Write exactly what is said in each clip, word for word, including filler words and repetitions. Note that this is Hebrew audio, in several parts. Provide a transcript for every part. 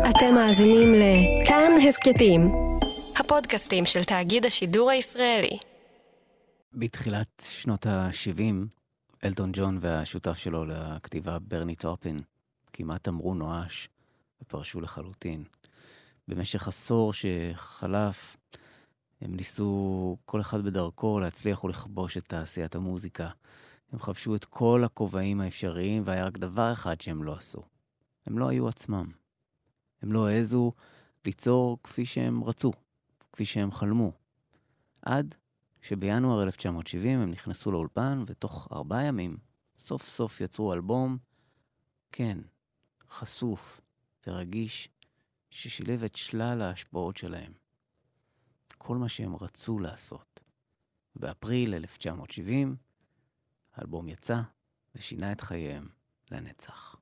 אתם מאזינים לכאן הסקטים, הפודקאסטים של תאגיד השידור הישראלי. בתחילת שנות ה-שבעים, אלטון ג'ון והשותף שלו לכתיבה ברני טופין כמעט אמרו נואש ופרשו לחלוטין. במשך עשור שחלף, הם ניסו כל אחד בדרכו להצליח ולכבוש את תעשיית המוזיקה. הם חבשו את כל הכובעים האפשריים, והיה רק דבר אחד שהם לא עשו. הם לא היו עצמם. הם לא העזו ליצור כפי שהם רצו, כפי שהם חלמו. עד שבינואר אלף תשע מאות שבעים הם נכנסו לאולפן, ותוך ארבעה ימים סוף סוף יצרו אלבום, כן, חשוף ורגיש, ששילב את שלל ההשפעות שלהם. כל מה שהם רצו לעשות. באפריל אלף תשע מאות שבעים, האלבום יצא ושינה את חייהם לנצח.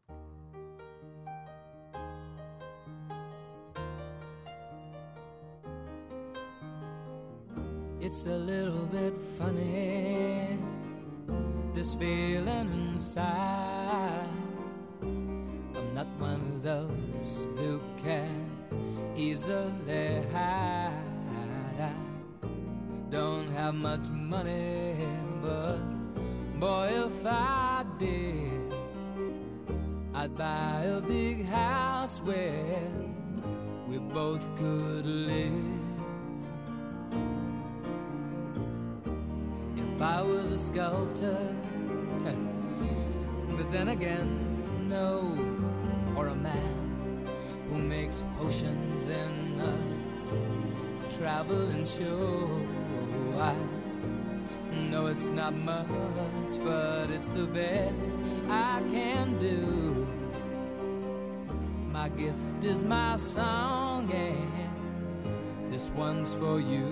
It's a little bit funny, this feeling inside. I'm not one of those who can easily hide. I don't have much money, but boy, if I did, I'd buy a big house where we both could live. If I was a sculptor, but then again, no, or a man who makes potions in a traveling show. I know it's not much, but it's the best I can do. My gift is my song, and this one's for you.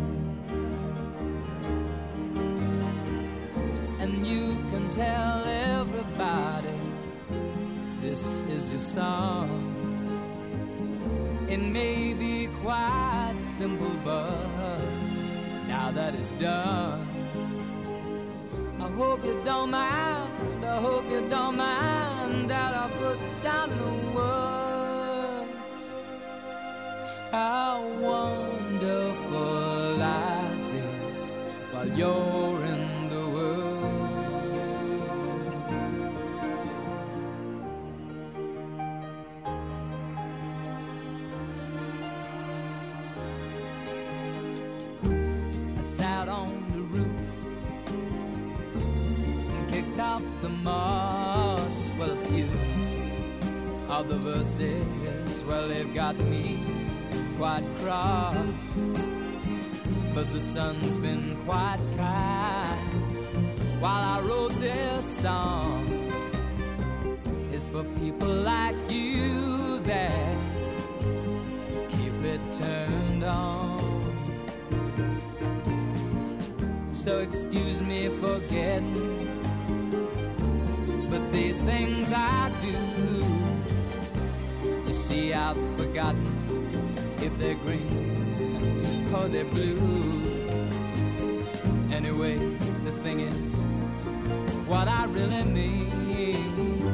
And you can tell everybody this is your song. It may be quite simple, but now that it's done, I hope you don't mind, I hope you don't mind that I put down in the words how wonderful life is while you're in the world. I sat on the roof and kicked out the moss. Well, a few of the verses, well, they've got me quite cross. But the sun's been quite kind while I wrote this song. It's for people like you that keep it turned on. So excuse me for getting, but these things I do, you see, I've forgotten if they're green or they're blue. Anyway, the thing is, what I really mean,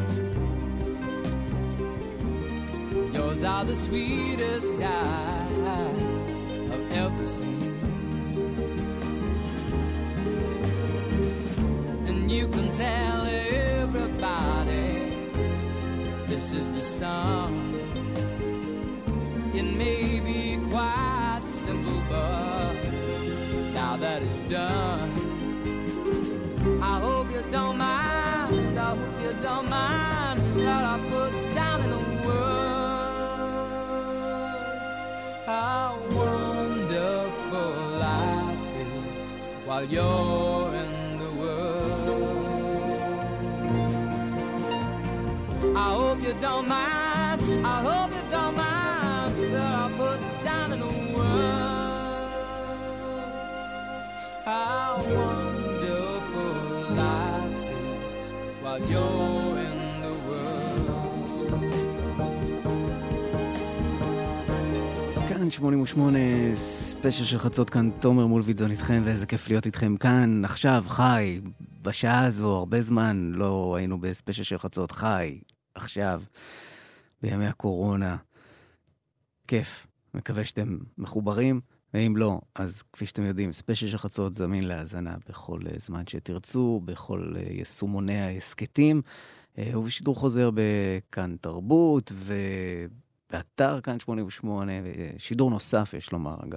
yours are the sweetest eyes I've ever seen. And you can tell everybody this is the song. It may be quite simple, but now that it's done, I hope you don't mind, I hope you don't mind that I put down in the words how wonderful life is while you're in the world. I hope you don't mind, I hope you don't mind that I put down in the words how wonderful life is while you're in the world. כאן שמונים ושמונה, ספיישל של חצות, כאן תומר מולביטזון איתכם, ואיזה כיף להיות איתכם כאן, עכשיו, חי, בשעה הזו, הרבה זמן לא היינו בספיישל של חצות, חי, עכשיו, בימי הקורונה. כיף. מקווה שאתם מחוברים, ואם לא, אז כפי שאתם יודעים, ספיישל של חצות זמין להאזנה בכל זמן שתרצו, בכל יישומוני ההסקטים, ובשידור חוזר בכאן תרבות, ובאתר כאן שמונים ושמונה, שידור נוסף יש לומר, אגב.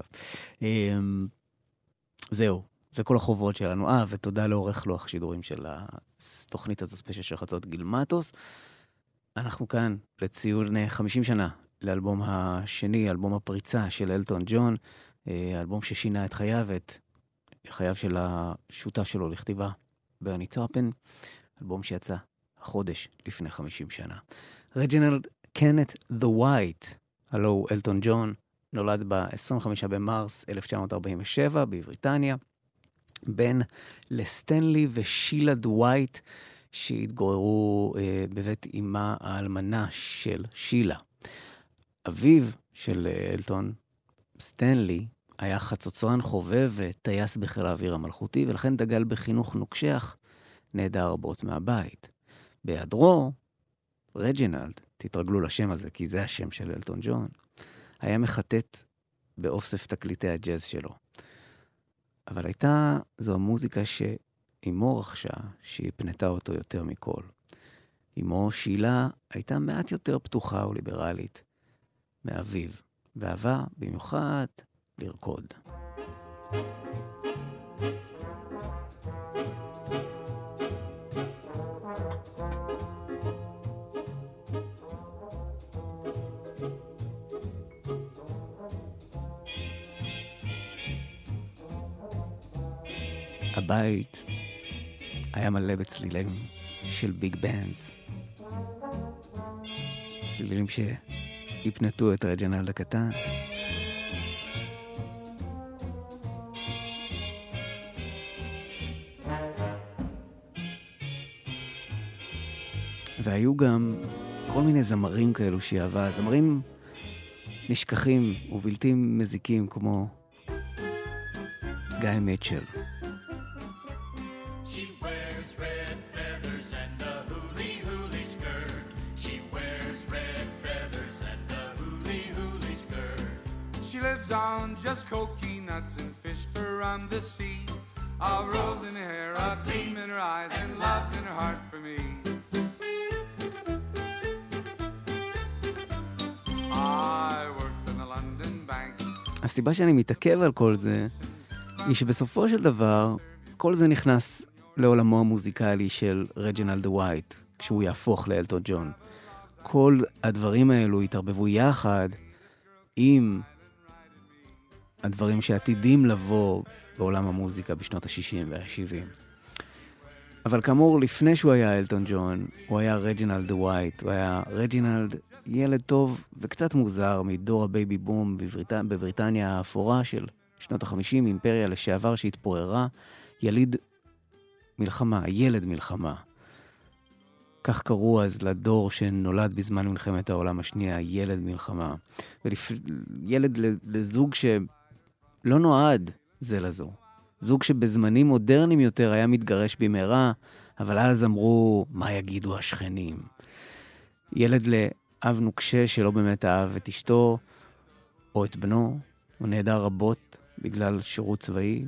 זהו, זה כל החובות שלנו. אה, ותודה לעורך לוח שידורים של התוכנית הזו, ספיישל של חצות גיל מטוס. אנחנו כאן לציון חמישים שנה לאלבום השני, אלבום הפריצה של אלטון ג'ון, אלבום ששינה את חייו, את חייו של השותף שלו לכתיבה, ברני טופן, אלבום שיצא החודש לפני חמישים שנה. רג'ינלד קנט דה ווייט, הלו אלטון ג'ון, נולד ב-עשרים וחמישה במרס אלף תשע מאות ארבעים ושבע בבריטניה, בן לסטנלי ושילה דה ווייט, שהתגוררו אה, בבית אמה האלמנה של שילה. אביו של אלטון, סטנלי, היה חצוצרן חובב וטייס בחיל האוויר המלכותי, ולכן דגל בחינוך נוקשח, נעדר רבות מהבית. בהיעדרו, רג'ינלד, תתרגלו לשם הזה, כי זה השם של אלטון ג'ון, היה מחטט באוסף תקליטי הג'אז שלו. אבל הייתה זו המוזיקה שאימו רכשה, שהיא פנתה אותו יותר מכל. אימו שילה הייתה מעט יותר פתוחה וליברלית מאביו, ואהבה במיוחד לרקוד. הבית היה מלא בצלילים של ביג בנדס. צלילים שהפנתו את רג'ינלד הקטן. והיו גם כל מיני זמרים כאלו שהיא אהבה, זמרים נשכחים ובלתי מזיקים כמו גיא מיטשל. On just coconuts and fish from the sea, a rose in her hair, a gleam in her eyes, and love in her heart for me. I worked in the London bank. הסיבה שאני מתעכב על כל זה, היא שבסופו של דבר, כל זה נכנס לעולמו המוזיקלי של רג'ינלד דה ווייט, כשהוא יהפוך לאלטון ג'ון. כל הדברים האלו התערבבו יחד עם הדברים שעתידים לבוא בעולם המוזיקה בשנות ה-שישים וה-שבעים. אבל כאמור, לפני שהוא היה אלטון ג'ון, הוא היה רג'ינלד דה ווייט, הוא היה רג'ינלד ילד טוב וקצת מוזר מדור הבייבי בום בבריט... בבריטניה האפורה של שנות ה-חמישים, אימפריה לשעבר שהתפוררה, יליד מלחמה, ילד מלחמה. כך קראו אז לדור שנולד בזמן מלחמת העולם השנייה, ילד מלחמה. ולפ... ילד לזוג ש... לא נועד זה לזו. זוג שבזמנים מודרניים יותר היה מתגרש במהרה, אבל אז אמרו, מה יגידו השכנים? ילד לאב נוקשה שלא באמת אהב את אשתו, או את בנו, הוא נעדר רבות בגלל שירות צבאי.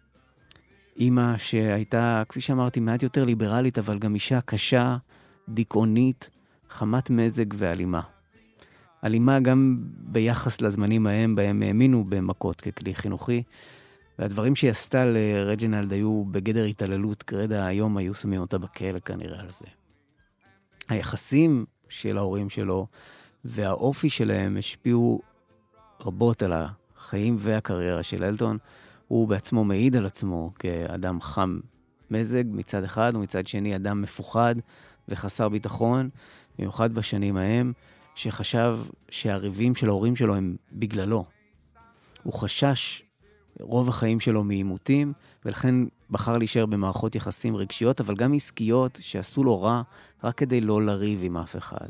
אמא שהייתה, כפי שאמרתי, מעט יותר ליברלית, אבל גם אישה קשה, דיכאונית, חמת מזג ואלימה. אלימה גם ביחס לזמנים ההם, בהם האמינו במכות ככלי חינוכי, והדברים שהיא עשתה לרג'ינלד היו בגדר התעללות, כרדה היום היו שמים אותה בכלא כנראה על זה. היחסים של ההורים שלו והאופי שלהם השפיעו רבות על החיים והקריירה של אלטון. הוא בעצמו מעיד על עצמו כאדם חם מזג מצד אחד, ומצד שני אדם מפוחד וחסר ביטחון, במיוחד בשנים ההם, שחשב שהריבים של ההורים שלו הם בגללו. הוא חשש רוב החיים שלו מעימותים, ולכן בחר להישאר במערכות יחסים רגשיות, אבל גם עסקיות שעשו לו רע, רק כדי לא לריב עם אף אחד.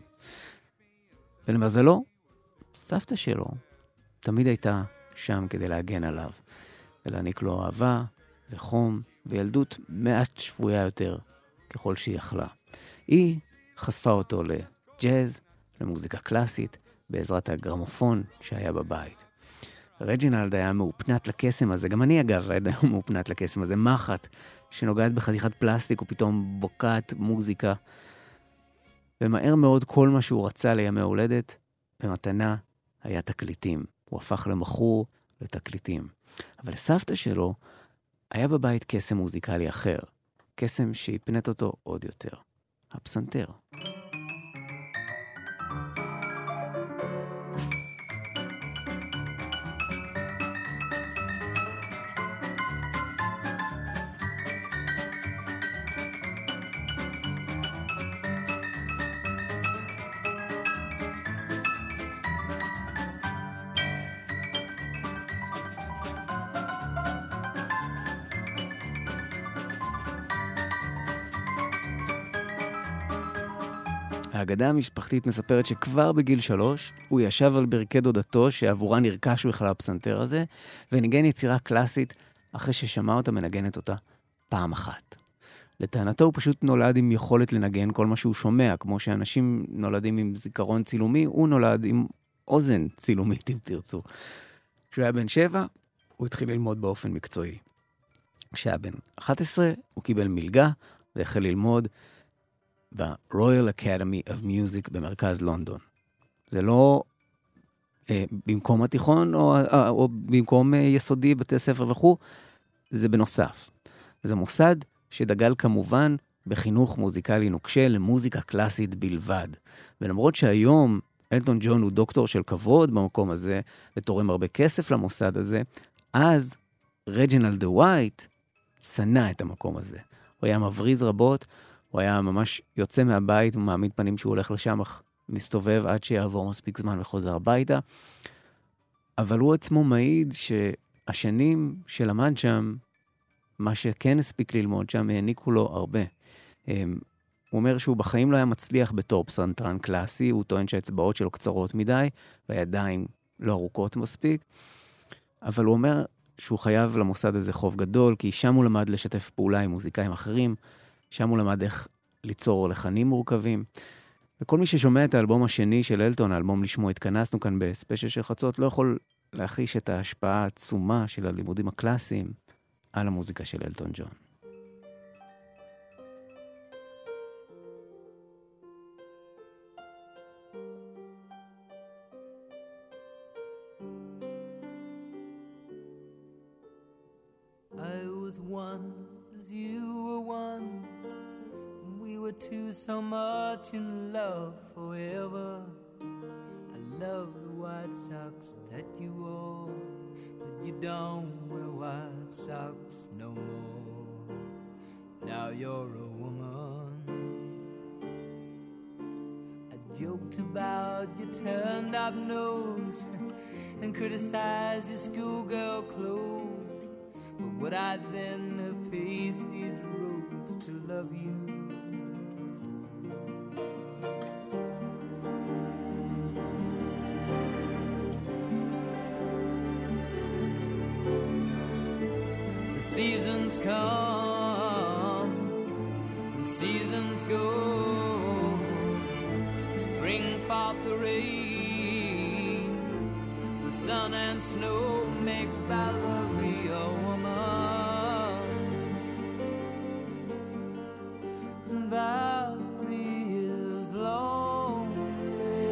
ולמזלו, סבתא שלו תמיד הייתה שם כדי להגן עליו, ולהעניק לו אהבה וחום וילדות מעט שפויה יותר ככל שהיא יכלה. היא חשפה אותו לג'אז, למוזיקה קלאסית, בעזרת הגרמופון שהיה בבית. רג'ינלד היה מאופנת לקסם הזה, גם אני אגב היה מאופנת לקסם הזה, מחט שנוגעת בחתיכת פלסטיק ופתאום בוקעת מוזיקה. ומהר מאוד כל מה שהוא רצה לימי הולדת, במתנה היה תקליטים. הוא הפך למכור לתקליטים. אבל לסבתא שלו היה בבית קסם מוזיקלי אחר. קסם שהפנט אותו עוד יותר. הפסנתר. האגדה המשפחתית מספרת שכבר בגיל שלוש הוא ישב על ברכי דודתו שעבורה נרכש בכלל הפסנתר הזה, וניגן יצירה קלאסית אחרי ששמע אותה מנגנת אותה פעם אחת. לטענתו הוא פשוט נולד עם יכולת לנגן כל מה שהוא שומע, כמו שאנשים נולדים עם זיכרון צילומי, הוא נולד עם אוזן צילומית אם תרצו. כשהוא היה בן שבע, הוא התחיל ללמוד באופן מקצועי. כשהיה בן אחת עשרה, הוא קיבל מלגה והחל ללמוד ב-Royal Academy of Music במרכז לונדון. זה לא אה, במקום התיכון או, אה, או במקום אה, יסודי, בתי ספר וכו', זה בנוסף. זה מוסד שדגל כמובן בחינוך מוזיקלי נוקשה למוזיקה קלאסית בלבד. ולמרות שהיום אלטון ג'ון הוא דוקטור של כבוד במקום הזה, ותורם הרבה כסף למוסד הזה, אז רג'ינלד ווייט שנא את המקום הזה. הוא היה מבריז רבות, הוא היה ממש יוצא מהבית ומעמיד פנים שהוא הולך לשם, אך מסתובב עד שיעבור מספיק זמן וחוזר הביתה. אבל הוא עצמו מעיד שהשנים שלמד שם, מה שכן הספיק ללמוד שם, העניקו לו הרבה. הוא אומר שהוא בחיים לא היה מצליח בתור פסנתרן קלאסי, הוא טוען שהאצבעות שלו קצרות מדי, והידיים לא ארוכות מספיק. אבל הוא אומר שהוא חייב למוסד הזה חוב גדול, כי שם הוא למד לשתף פעולה עם מוזיקאים אחרים, שם הוא למד איך ליצור לחנים מורכבים. וכל מי ששומע את האלבום השני של אלטון, האלבום לשמו התכנסנו כאן בספיישל של חצות, לא יכול להחיש את ההשפעה העצומה של הלימודים הקלאסיים על המוזיקה של אלטון ג'ון. I was one as you were one, and we were two so much in love forever. I love the white socks that you wore, but you don't wear white socks no more. Now you're a woman. I joked about your turned up nose and criticized your schoolgirl clothes. But would I then have paced these roads to love you? The seasons come and seasons go, bring forth the rain, the sun and snow make Valerie a woman, and Valerie is lonely.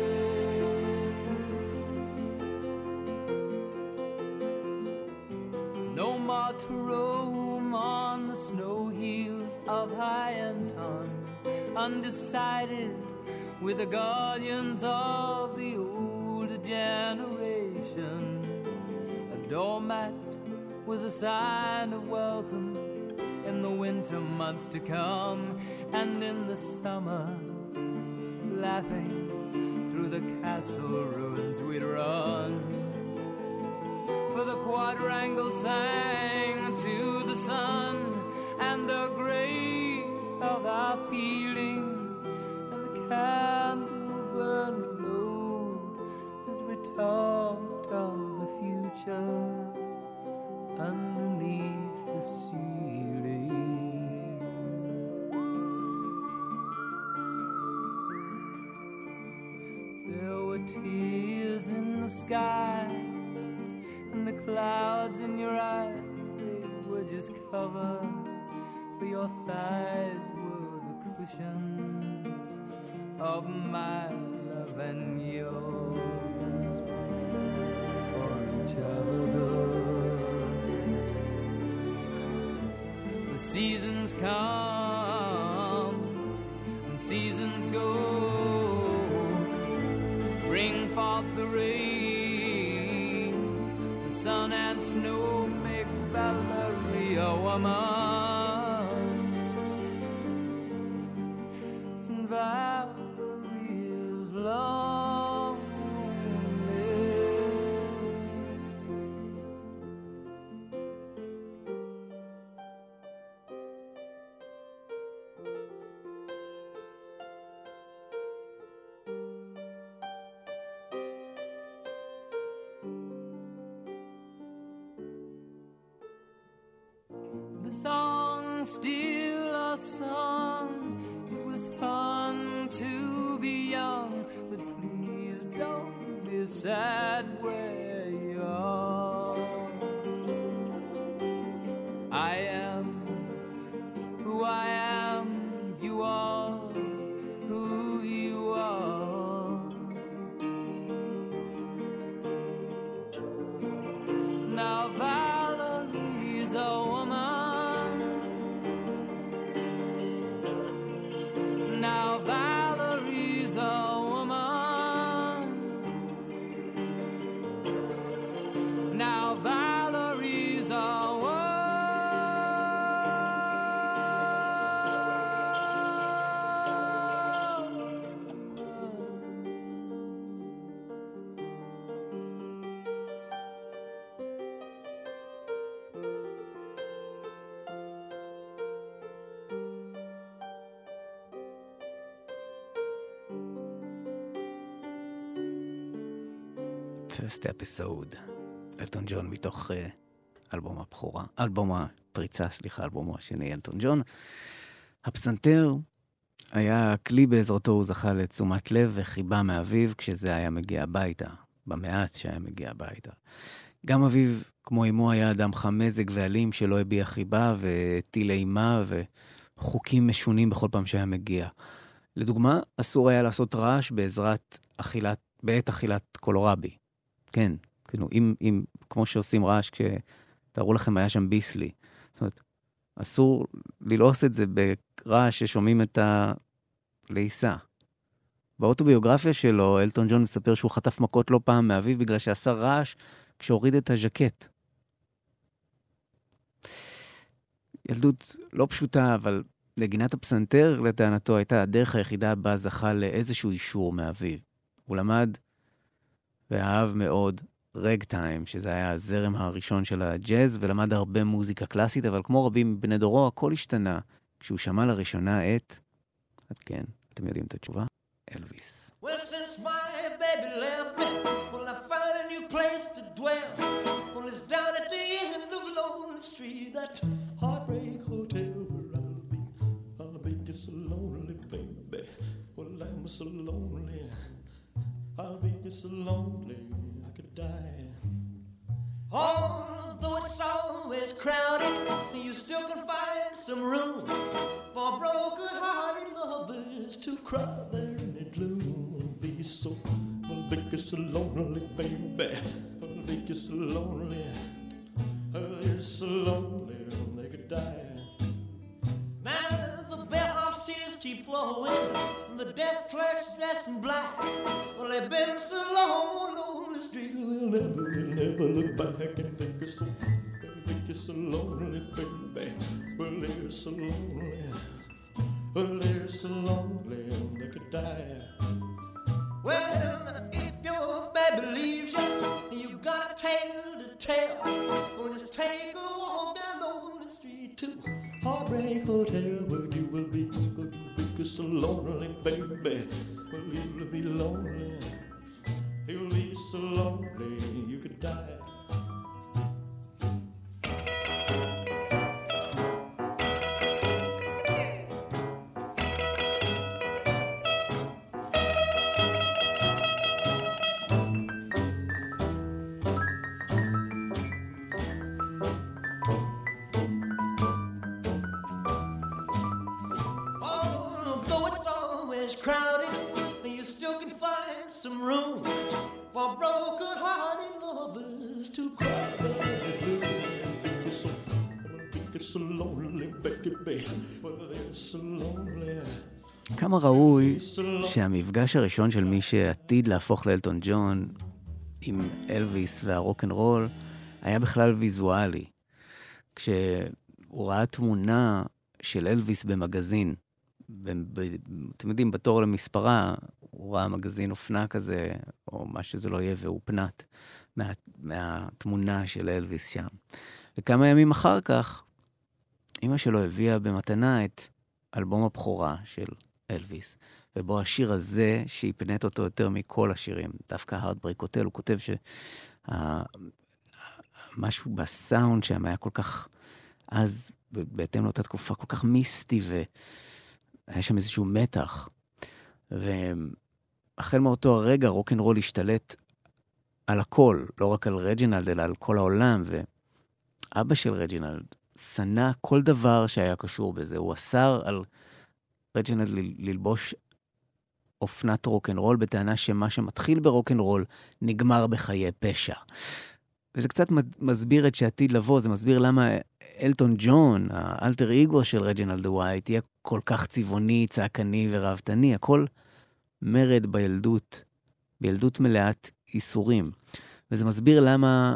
No more to roam on the snow hills of Hyanton, undecided with the guardians of the older generation. A doormat was a sign of welcome in the winter months to come, and in the summer, laughing through the castle ruins we'd run. For the quadrangle sang to the sun and the grace of our feeling, and the candle burned low as we talked of the future underneath the ceiling. There were the sky, and the clouds in your eyes, they were just cover, but your thighs were the cushions of my love and yours for each other. The seasons come and seasons go, bring forth the rain, the sun and snow make Valerie a woman, and Valerie is lonely. The song, still a song, it was fun to be young, but please don't be sad where you are. I am who I am, you are who you are. Now Valerie's a woman, now Valerie's a woman, now Valerie's a woman. First episode, אלטון ג'ון מתוך uh, אלבום הבכורה, אלבום הפריצה, סליחה, אלבומו השני, אלטון ג'ון. הפסנתר היה כלי בעזרתו, הוא זכה לתשומת לב וחיבה מאביו כשזה היה מגיע הביתה, במעט שהיה מגיע הביתה. גם אביו, כמו אמו, היה אדם חמזג ואלים שלא הביע חיבה וטיל אימה וחוקים משונים בכל פעם שהיה מגיע. לדוגמה, אסור היה לעשות רעש בעזרת אכילת, בעת אכילת קולורבי. כן, כאילו, אם, אם, כמו שעושים רעש, כשתראו לכם, היה שם ביסלי. זאת אומרת, אסור ללעוס את זה ברעש ששומעים את הלעיסה. באוטוביוגרפיה שלו, אלטון ג'ון מספר שהוא חטף מכות לא פעם מאביו, בגלל שעשה רעש כשהוריד את הז'קט. ילדות לא פשוטה, אבל נגינת הפסנתר, לטענתו, הייתה הדרך היחידה בה זכה לאיזשהו אישור מאביו. הוא למד ואהב מאוד רג טיים, שזה היה הזרם הראשון של הג'אז, ולמד הרבה מוזיקה קלאסית, אבל כמו רבים בני דורו, הכל השתנה כשהוא שמע לראשונה את, עד כן, אתם יודעים את התשובה? אלוויס. Well, since my baby left me, well, I found a new place to dwell. Well, it's down at the end of Lonely Street, that heartbreak hotel where I'll be. I'll be just so lonely, baby. Well, I'm so lonely. I'll be just so lonely, I could die. Although it's always crowded, you still can find some room for broken-hearted lovers to cry there in the gloom. I'll be so, I'll be just so lonely, baby. I'll be just so lonely. I'll be so lonely, they could die. Now the bellhop's tears keep flowing, the desk clerk's dressed in black. Well, they've been so long on the street, they'll never, they'll never look back and think it's so, think it's so lonely, baby. Well, they're so lonely. Well, they're so lonely, they could die. Well, if your baby leaves you, you got a tale to tell. Well, just take a walk down on the street to Heartbreak Hotel, where you will be, where you will be so lonely, baby. Well, you'll be lonely. You'll be so lonely, you could die. some room for broken-hearted lovers to cry. It's so, it's so lonely, Becky, baby. Well, it's so lonely. כמה ראוי שהמפגש הראשון של מי שעתיד להפוך לאלטון ג'ון עם אלוויס והרוק'נ'רול היה בכלל ויזואלי. כשהוא ראה תמונה של אלוויס במגזין, אתם יודעים, בתור למספרה, הוא ראה מגזין אופנה כזה, או מה שזה לא יהיה, והוא פנט מה, מהתמונה של אלוויס שם. וכמה ימים אחר כך, אמא שלו הביאה במתנה את אלבום הבכורה של אלוויס, ובו השיר הזה שהפנט אותו יותר מכל השירים, דווקא הארטברייק הוטל, הוא כותב שמשהו בסאונד שם היה כל כך, אז בהתאם לאותה תקופה, כל כך מיסטי, והיה שם איזשהו מתח. והחל מאותו הרגע רוק'נ'רול השתלט על הכל, לא רק על רג'ינלד, אלא על כל העולם, ואבא של רג'ינלד שנא כל דבר שהיה קשור בזה, הוא אסר על רג'ינלד ללבוש אופנת רוק'נ'רול, בטענה שמה שמתחיל ברוק'נ'רול נגמר בחיי פשע. וזה קצת מסביר את שעתיד לבוא, זה מסביר למה אלטון ג'ון, האלטר איגו של רג'ינלד ווייט, יהיה כל כך צבעוני, צעקני ורהבתני, הכל מרד בילדות, בילדות מלאת איסורים. וזה מסביר למה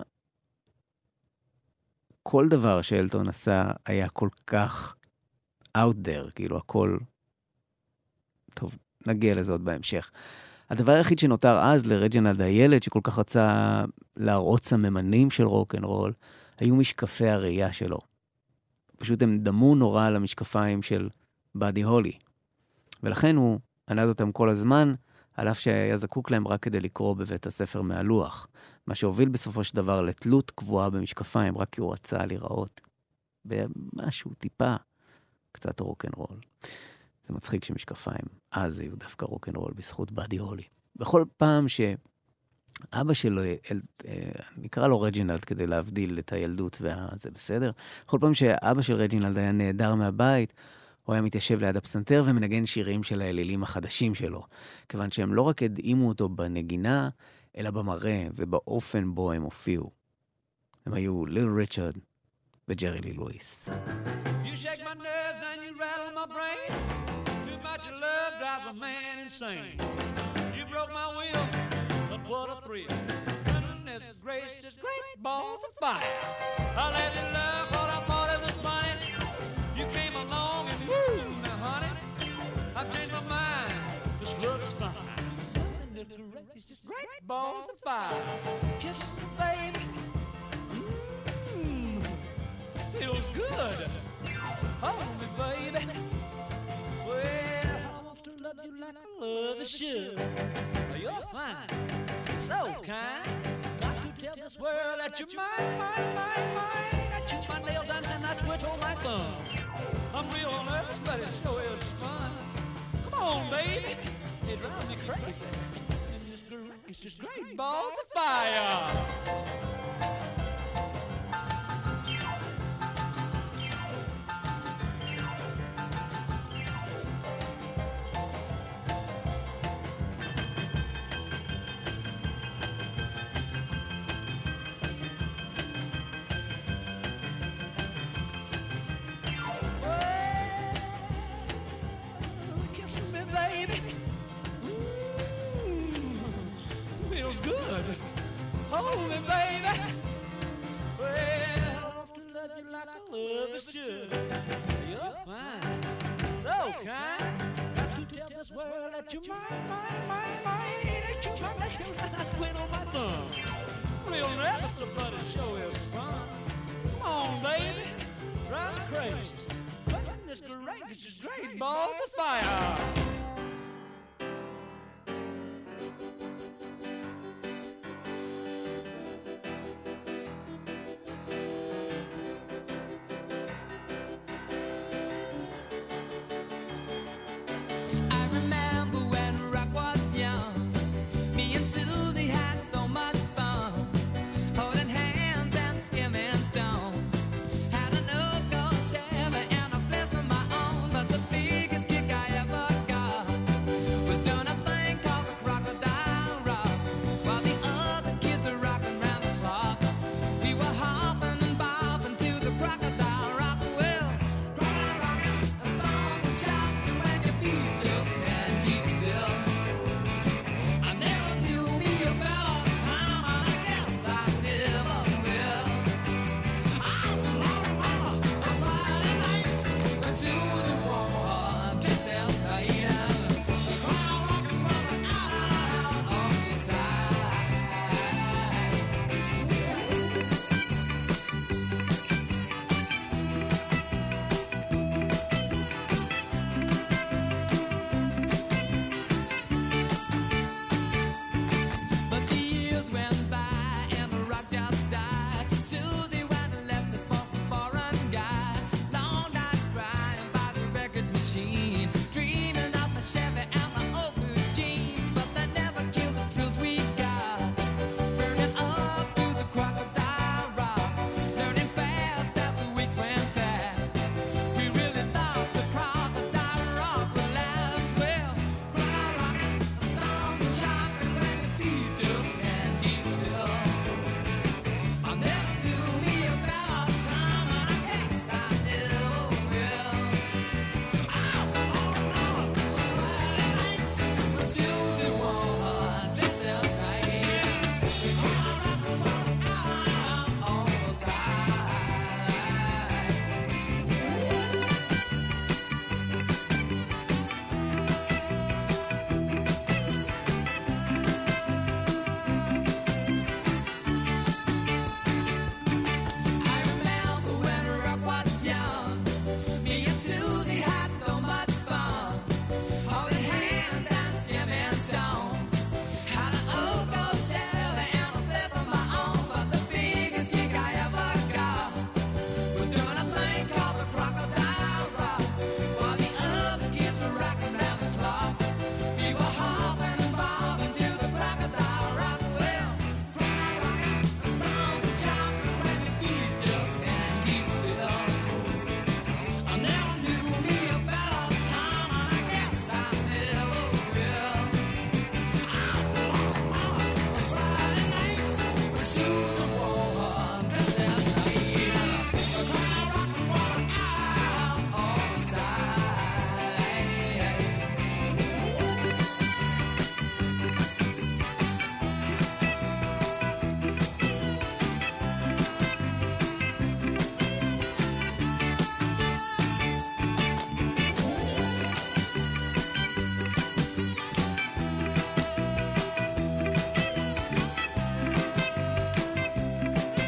כל דבר שאלטון עשה היה כל כך out there, כאילו הכל, טוב, נגיע לזה עוד בהמשך. הדבר היחיד שנותר אז לרג'ינלד הילד, שכל כך רצה להראות סממנים של רוק'נ'רול, היו משקפי הראייה שלו. פשוט הם דמו נורא על המשקפיים של באדי הולי. ולכן הוא ענד אותם כל הזמן, על אף שהיה זקוק להם רק כדי לקרוא בבית הספר מהלוח. מה שהוביל בסופו של דבר לתלות קבועה במשקפיים, רק כי הוא רצה לראות במשהו טיפה, קצת רוק'נ'רול. זה מצחיק שמשקפיים, אז היו דווקא רוק'נ'רול בזכות באדי הולי. בכל פעם שאבא שלו, נקרא לו רג'ינלד כדי להבדיל את הילדות וזה בסדר, בכל פעם שאבא של רג'ינלד היה נהדר מהבית, הוא היה מתיישב ליד הפסנתר ומנגן שירים של האלילים החדשים שלו, כיוון שהם לא רק הדהימו אותו בנגינה, אלא במראה ובאופן בו הם הופיעו. הם היו ליל ריצ'רד וג'רי לי לואיס. You shake my nerves and you rattle my brain. Too much love drives a man insane. You broke my will, but what a thrill. Goodness gracious, great balls of fire. I let you love what I thought it was funny. You came along and woo, now honey, I've changed my mind. This love is fine. Goodness gracious, great balls of fire. Kiss the baby. Mmm, feels good. Hold me, baby. Well, I want to love you like I love you should. You're fine, so kind. Got to tell this world that you're mine, mine, mine, mine. I chew my nails down and I twiddle my thumb. I'm real nervous, but it sure is fun. Come on, baby. It drives me crazy. And this great, it's just great balls of fire. Hold me, baby. Well, I want to love you like I love you should. You're fine, so kind. Got to tell this world that you're mine, mine, mine, mine. That you're my nails and I twiddle my thumb. Real nervous, but it sure is fun. Come on, baby, drive me crazy. Goodness gracious, great balls of fire. I remember when rock was young, me and Sue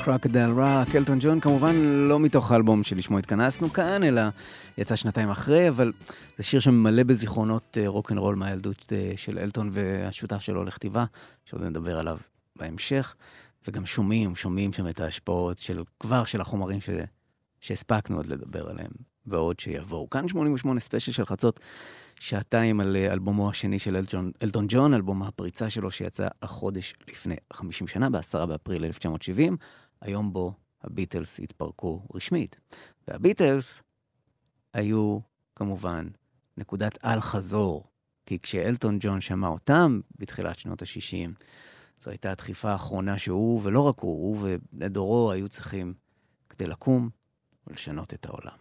קרוקודייל רוק, אלטון ג'ון, כמובן לא מתוך האלבום שלשמו התכנסנו כאן, אלא יצא שנתיים אחרי, אבל זה שיר שממלא בזיכרונות רוק'נ'רול מהילדות של אלטון והשותף שלו לכתיבה, שעוד נדבר עליו בהמשך, וגם שומעים, שומעים שם את ההשפעות של כבר של החומרים ש... שהספקנו עוד לדבר עליהם, ועוד שיבואו. כאן שמונים ושמונה ספיישל של חצות, שעתיים על אלבומו השני של אלטון, אלטון ג'ון, אלבום הפריצה שלו שיצא החודש לפני חמישים שנה, בעשרה באפריל אלף תשע מאות שבעים, היום בו הביטלס התפרקו רשמית. והביטלס היו כמובן נקודת על חזור, כי כשאלטון ג'ון שמע אותם בתחילת שנות ה-שישים, זו הייתה הדחיפה האחרונה שהוא, ולא רק הוא, הוא ולדורו היו צריכים כדי לקום ולשנות את העולם.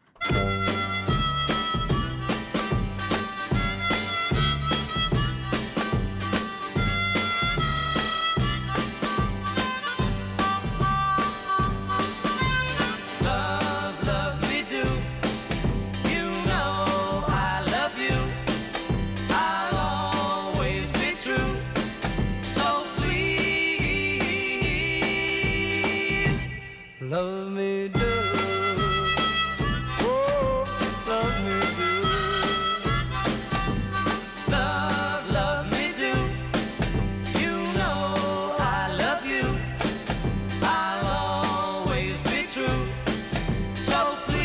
Love me do, oh, love me do, love, love me do, you know I love you, I'll always be true, so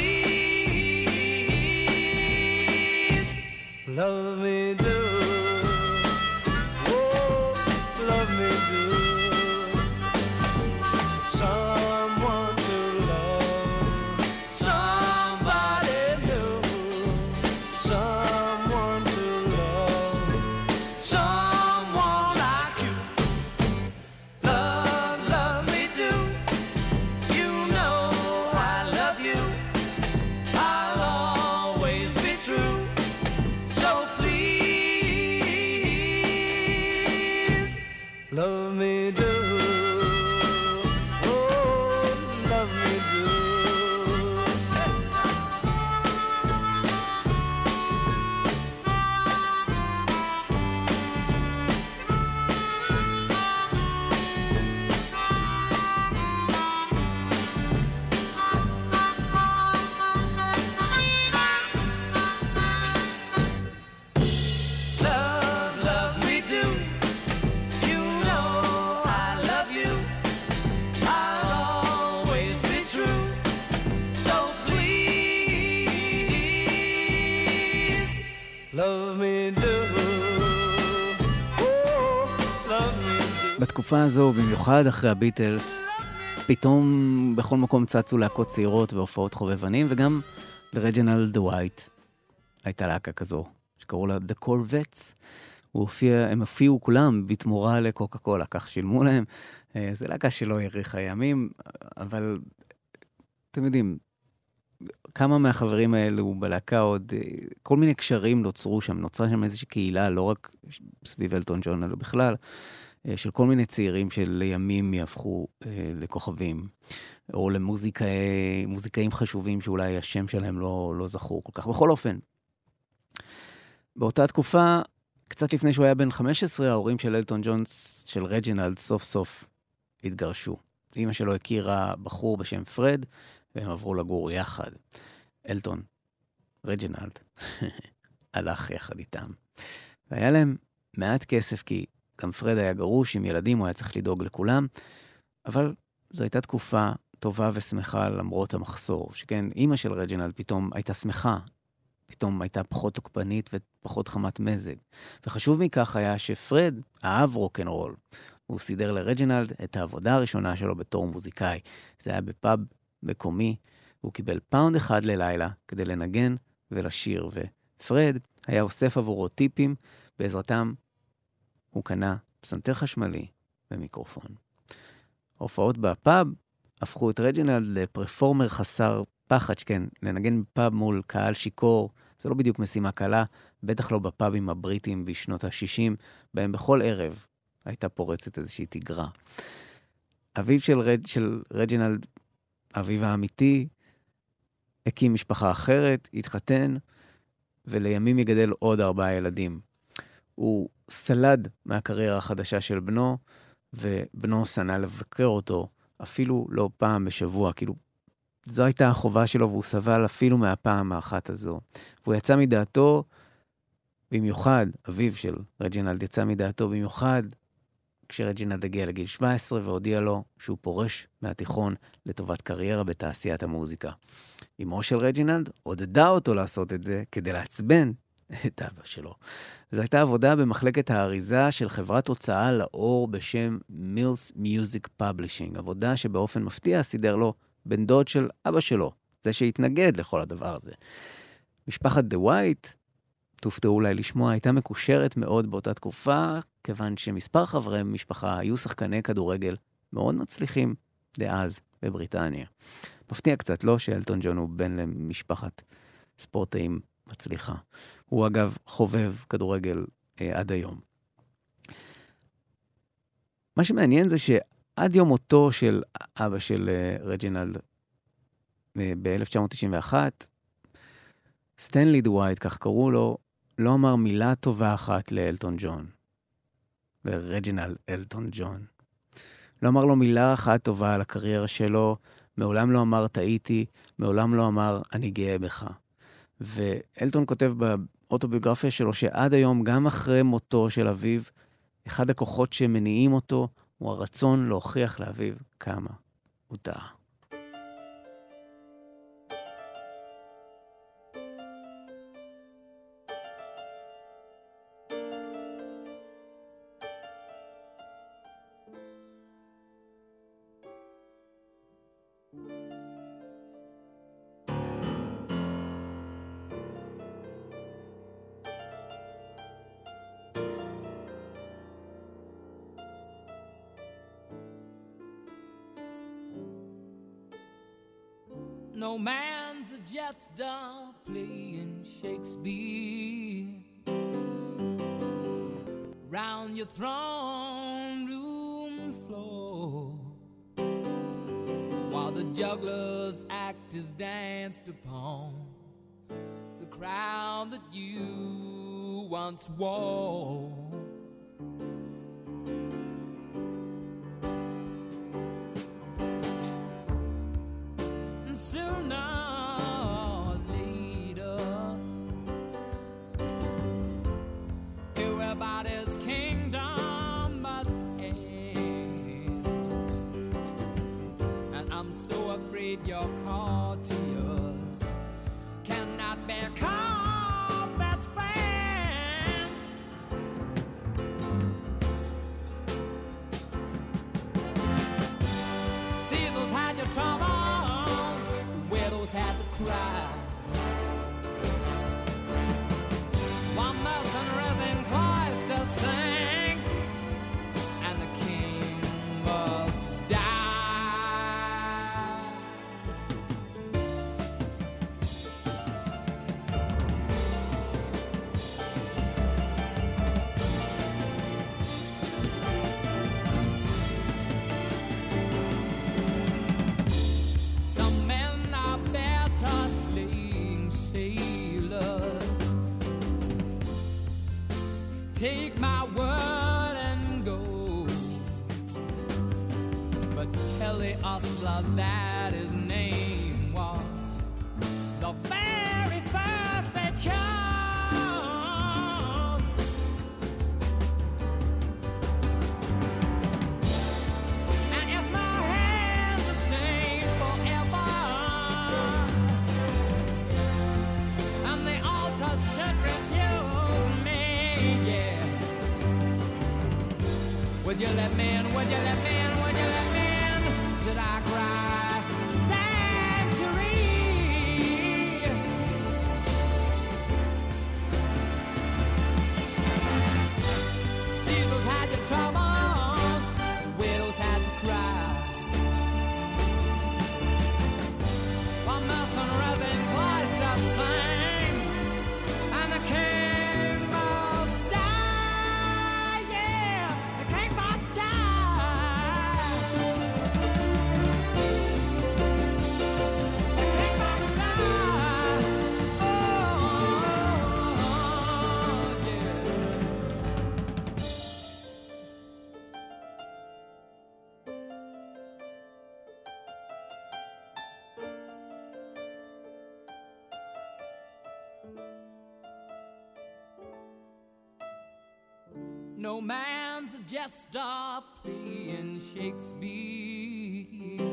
please, love me do, oh, love me do, someone love me do, oh, love me do. Love me do, oh, love me do. בתקופה הזו, במיוחד אחרי הביטלס, פתאום בכל מקום צצו להקות צעירות והופעות חובבנים, וגם לרג'ינלד ווייט הייתה להקה כזו, שקראו לה The Corvettes. הוא הופיע, הם הופיעו כולם בתמורה לקוקה קולה, כך שילמו להם. זה להקה שלא האריכה ימים, אבל אתם יודעים, כמה מהחברים האלו בלהקה עוד, כל מיני קשרים נוצרו שם, נוצרה שם איזושהי קהילה, לא רק סביב אלטון ג'ון, אלא בכלל, של כל מיני צעירים שלימים יהפכו לכוכבים, או למוזיקאים חשובים שאולי השם שלהם לא, לא זכור כל כך. בכל אופן, באותה תקופה, קצת לפני שהוא היה בן חמש עשרה, ההורים של אלטון ג'ון, של רג'ינלד, סוף סוף התגרשו. אמא שלו הכירה בחור בשם פרד, והם עברו לגור יחד. אלטון, רג'ינלד, הלך יחד איתם. והיה להם מעט כסף, כי גם פרד היה גרוש עם ילדים, הוא היה צריך לדאוג לכולם, אבל זו הייתה תקופה טובה ושמחה למרות המחסור, שכן אמא של רג'ינלד פתאום הייתה שמחה, פתאום הייתה פחות תוקפנית ופחות חמת מזג. וחשוב מכך היה שפרד אהב רוק'נ'רול. הוא סידר לרג'ינלד את העבודה הראשונה שלו בתור מוזיקאי. זה היה בפאב מקומי, הוא קיבל פאונד אחד ללילה כדי לנגן ולשיר, ופרד היה אוסף עבורו טיפים, בעזרתם הוא קנה פסנתר חשמלי ומיקרופון. ההופעות בפאב הפכו את רג'ינלד לפרפורמר חסר פחד, שכן, לנגן בפאב מול קהל שיקור, זה לא בדיוק משימה קלה, בטח לא בפאבים הבריטים בשנות ה-שישים, בהם בכל ערב הייתה פורצת איזושהי תגרה. אביו של, רד, של רג'ינלד, אביו האמיתי, הקים משפחה אחרת, התחתן, ולימים יגדל עוד ארבעה ילדים. הוא סלד מהקריירה החדשה של בנו, ובנו סנה לבקר אותו אפילו לא פעם בשבוע, כאילו, זו הייתה החובה שלו, והוא סבל אפילו מהפעם האחת הזו. והוא יצא מדעתו, במיוחד, אביו של רג'ינלד יצא מדעתו במיוחד, כשרג'ינלד הגיע לגיל שבע עשרה והודיע לו שהוא פורש מהתיכון לטובת קריירה בתעשיית המוזיקה. אמו של רג'ינלד עודדה אותו לעשות את זה כדי לעצבן את אבא שלו. זו הייתה עבודה במחלקת האריזה של חברת הוצאה לאור בשם Mills Music Publishing, עבודה שבאופן מפתיע סידר לו בן דוד של אבא שלו, זה שהתנגד לכל הדבר הזה. משפחת דה ווייט, תופתעו אולי לשמוע, הייתה מקושרת מאוד באותה תקופה, כיוון שמספר חברי משפחה היו שחקני כדורגל מאוד מצליחים דאז בבריטניה. מפתיע קצת, לא שאלטון ג'ון הוא בן למשפחת ספורטאים מצליחה. הוא אגב חובב כדורגל אה, עד היום. מה שמעניין זה שעד יום מותו של אבא של אה, רג'ינלד אה, ב-אלף תשע מאות תשעים ואחת, סטנלי דווייט, כך קראו לו, לא אמר מילה טובה אחת לאלטון ג'ון. לרג'ינלד אלטון ג'ון. לא אמר לו מילה אחת טובה על הקריירה שלו, מעולם לא אמר טעיתי, מעולם לא אמר אני גאה בך. ואלטון כותב באוטוביוגרפיה שלו שעד היום, גם אחרי מותו של אביו, אחד הכוחות שמניעים אותו הוא הרצון להוכיח לאביו כמה הוא טעה. No man's a jester playing Shakespeare round your throne room floor, while the juggler's act is danced upon the crown that you once wore. Your courtiers cannot be called best friends. Caesars had your troubles, widows had to cry. While mercenaries in cloister sang, and the king was take my word and go, but tell the hustler that his name was the very first they chose. And if my hands are stained forever, and the altar should refuse me, yeah, would you let me in, would you let me in, would you let me in? Should I cry sanctuary? Caesars had your troubles, widows had to cry, while mercenaries in cloister sang, and the king must die, yeah, the king must die. no man's a jester playing Shakespeare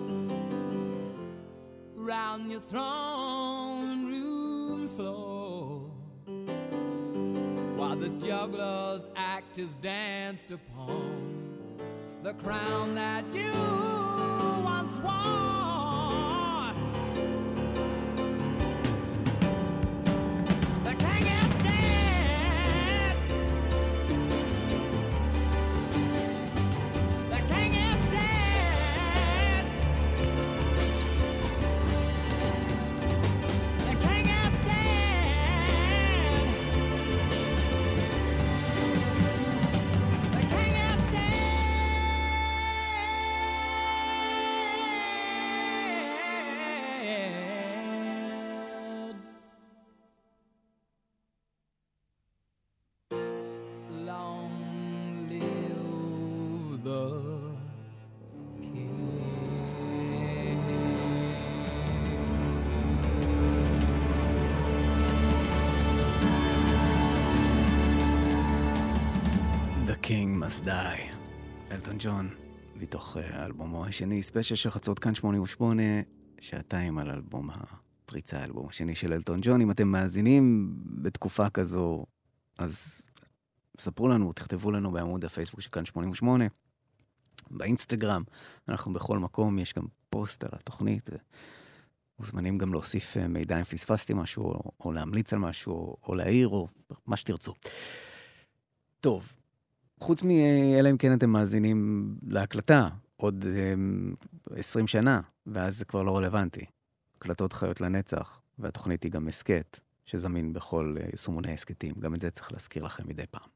round your throne room floor, while the juggler's act is danced upon the crown that you once wore. The king is dead. The king is dead. The king is dead. The king is dead. Long live the king. The King Must Die, אלטון ג'ון, מתוך אה, אלבומו השני, ספיישל של חצות כאן שמונים ושמונה, שעתיים על אלבום הפריצה, האלבום השני של אלטון ג'ון. אם אתם מאזינים בתקופה כזו, אז ספרו לנו, תכתבו לנו בעמוד הפייסבוק של כאן שמונים ושמונה, באינסטגרם, אנחנו בכל מקום, יש גם פוסט על התוכנית, מוזמנים גם להוסיף אה, מידע אם פספסתי משהו, או, או להמליץ על משהו, או, או להעיר, או מה שתרצו. טוב, חוץ מאלה אם כן אתם מאזינים להקלטה, עוד um, עשרים שנה, ואז זה כבר לא רלוונטי. הקלטות חיות לנצח, והתוכנית היא גם הסקט, שזמין בכל uh, יישומוני הסקטים. גם את זה צריך להזכיר לכם מדי פעם.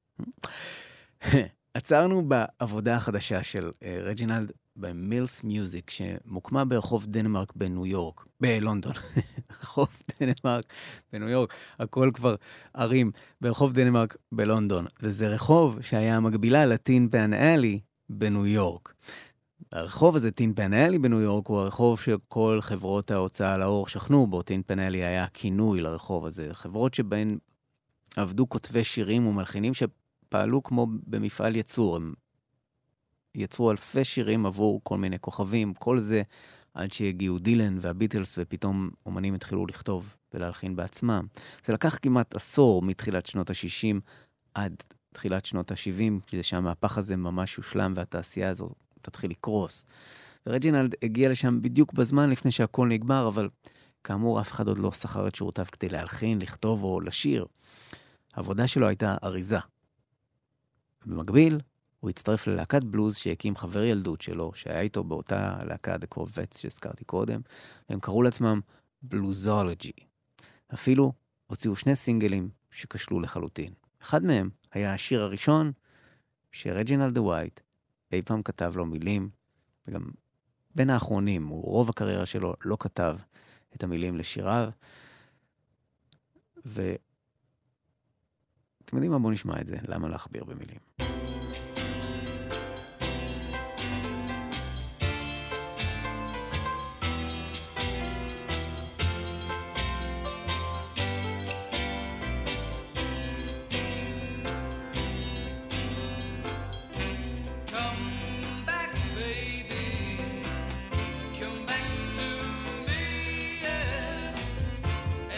עצרנו בעבודה החדשה של uh, רג'ינלד במילס מיוזיק, שמוקמה ברחוב דנמרק בניו יורק, בלונדון. רחוב דנמרק בניו יורק, הכל כבר ערים, ברחוב דנמרק בלונדון. וזה רחוב שהיה מקבילה לטין פן אלי בניו יורק. הרחוב הזה, טין פן אלי בניו יורק, הוא הרחוב שכל חברות ההוצאה לאור שכנו בו. טין פן אלי היה כינוי לרחוב הזה. חברות שבהן עבדו כותבי שירים ומלחינים שפעלו כמו במפעל יצור. הם יצרו אלפי שירים עבור כל מיני כוכבים, כל זה עד שהגיעו דילן והביטלס, ופתאום אומנים התחילו לכתוב ולהלחין בעצמם. זה לקח כמעט עשור מתחילת שנות ה-שישים עד תחילת שנות ה-שבעים, כדי שהמהפך הזה ממש יושלם והתעשייה הזו תתחיל לקרוס. ורג'ינלד הגיע לשם בדיוק בזמן לפני שהכל נגמר, אבל כאמור אף אחד עוד לא שכר את שירותיו כדי להלחין, לכתוב או לשיר. העבודה שלו הייתה אריזה. במקביל, הוא הצטרף ללהקת בלוז שהקים חבר ילדות שלו, שהיה איתו באותה להקה The Corvettes שהזכרתי קודם, והם קראו לעצמם בלוזולוגי. אפילו הוציאו שני סינגלים שקשלו לחלוטין. אחד מהם היה השיר הראשון שרג'ינלד ווייט אי פעם כתב לו מילים, וגם בין האחרונים, הוא רוב הקריירה שלו לא כתב את המילים לשיריו, ואתם יודעים מה? בואו נשמע את זה, למה להכביר במילים.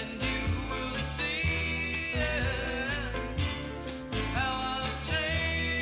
Change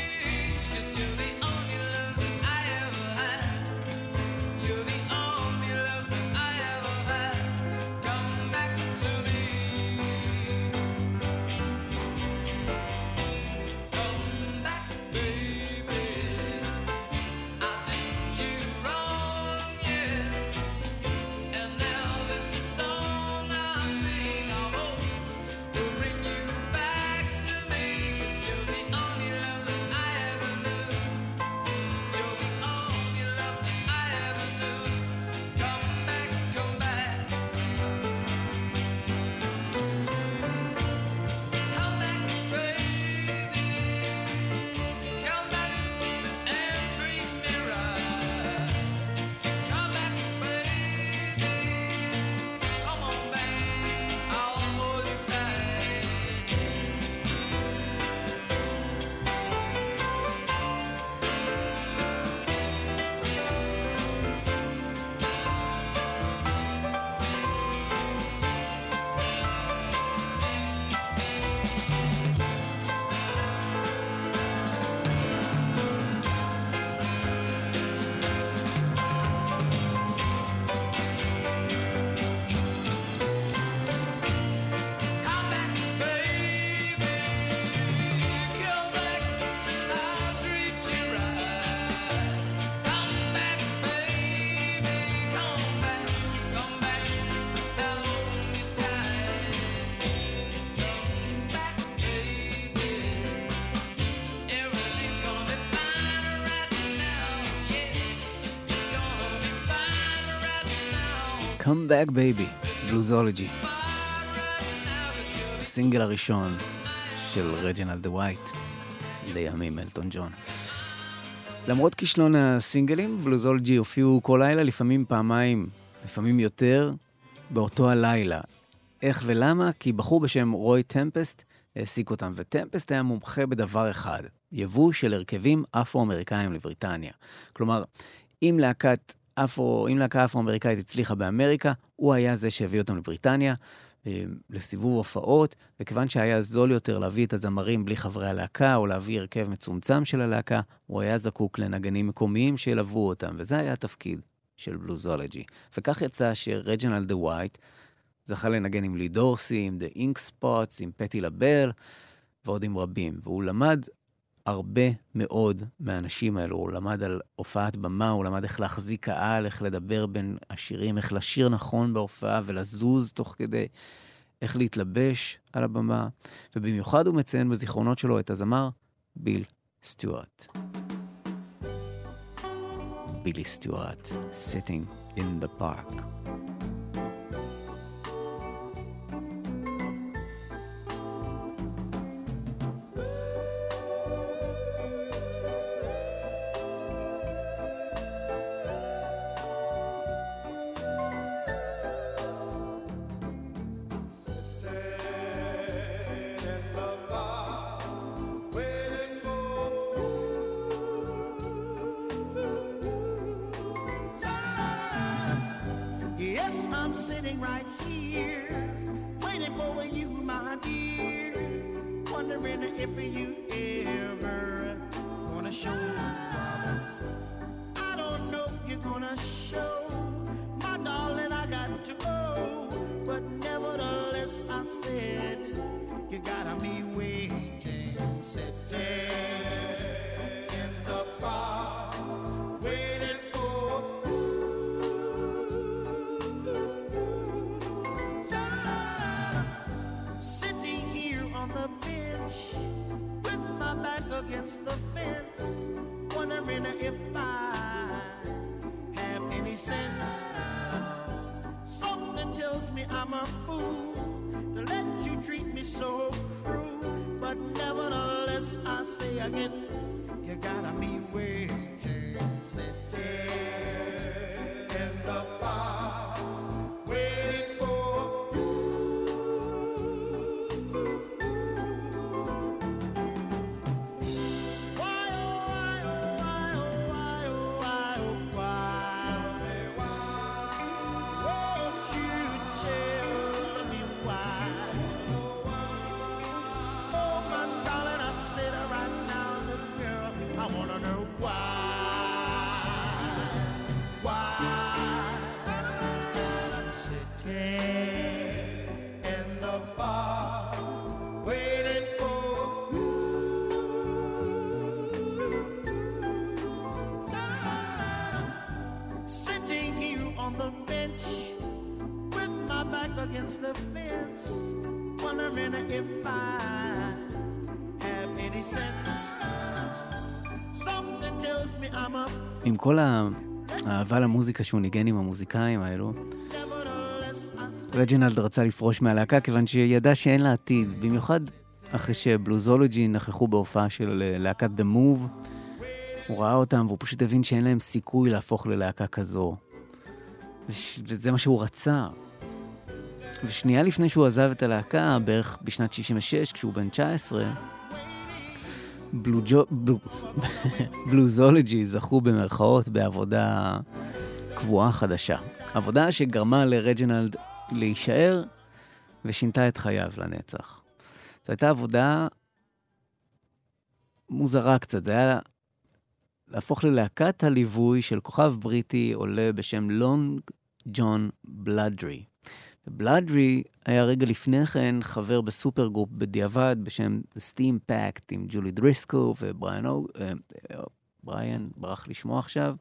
Come Back Baby, בלוזולוגי. הסינגל הראשון של רג'ינלד ווייט, לימים אלטון ג'ון. למרות כישלון הסינגלים, בלוזולוגי הופיעו כל לילה, לפעמים פעמיים, לפעמים יותר, באותו הלילה. איך ולמה? כי בחור בשם רוי טמפסט העסיק אותם, וטמפסט היה מומחה בדבר אחד, יבוא של הרכבים אפרו-אמריקאים לבריטניה. כלומר, אם להקת אפרו, אם להקה אפרו-אמריקאית הצליחה באמריקה, הוא היה זה שהביא אותם לבריטניה, לסיבוב הופעות, וכיוון שהיה זול יותר להביא את הזמרים בלי חברי הלהקה, או להביא הרכב מצומצם של הלהקה, הוא היה זקוק לנגנים מקומיים שילוו אותם, וזה היה התפקיד של בלוזולוגי. וכך יצא שרג'ינלד ווייט זכה לנגן עם לי דורסי, עם The Ink Spots, עם פטי לבל, ועוד עם רבים. והוא למד הרבה מאוד מהאנשים האלו. הוא למד על הופעת במה, הוא למד איך להחזיק קהל, איך לדבר בין השירים, איך לשיר נכון בהופעה ולזוז תוך כדי, איך להתלבש על הבמה. ובמיוחד הוא מציין בזיכרונות שלו את הזמר ביל סטיוארט. בילי סטיוארט, sitting in the park. Against the fence, wondering if I have any sense. Something tells me I'm a... עם כל האהבה למוזיקה שהוא ניגן עם המוזיקאים האלו, רג'ינלד רצה לפרוש מהלהקה כיוון שידע שאין לה עתיד, במיוחד אחרי שבלוזולוגי נכחו בהופעה של להקת The Move. הוא ראה אותם והוא פשוט הבין שאין להם סיכוי להפוך ללהקה כזו. וזה מה שהוא רצה. ושנייה לפני שהוא עזב את הלהקה, בערך בשנת שישים ושש, כשהוא בן תשע עשרה, בלוזולוגי זכו במרכאות בעבודה קבועה חדשה. עבודה שגרמה לרג'ינלד להישאר ושינתה את חייו לנצח. זו הייתה עבודה מוזרה קצת. זה היה להפוך ללהקת הליווי של כוכב בריטי עולה בשם לונג ג'ון בלאדרי. בלאדרי היה רגע לפני כן חבר בסופר גרופ בדיעבד בשם The Steam Pact עם ג'ולי דריסקו ובריאן אוג... בריאן ברח לשמוע עכשיו.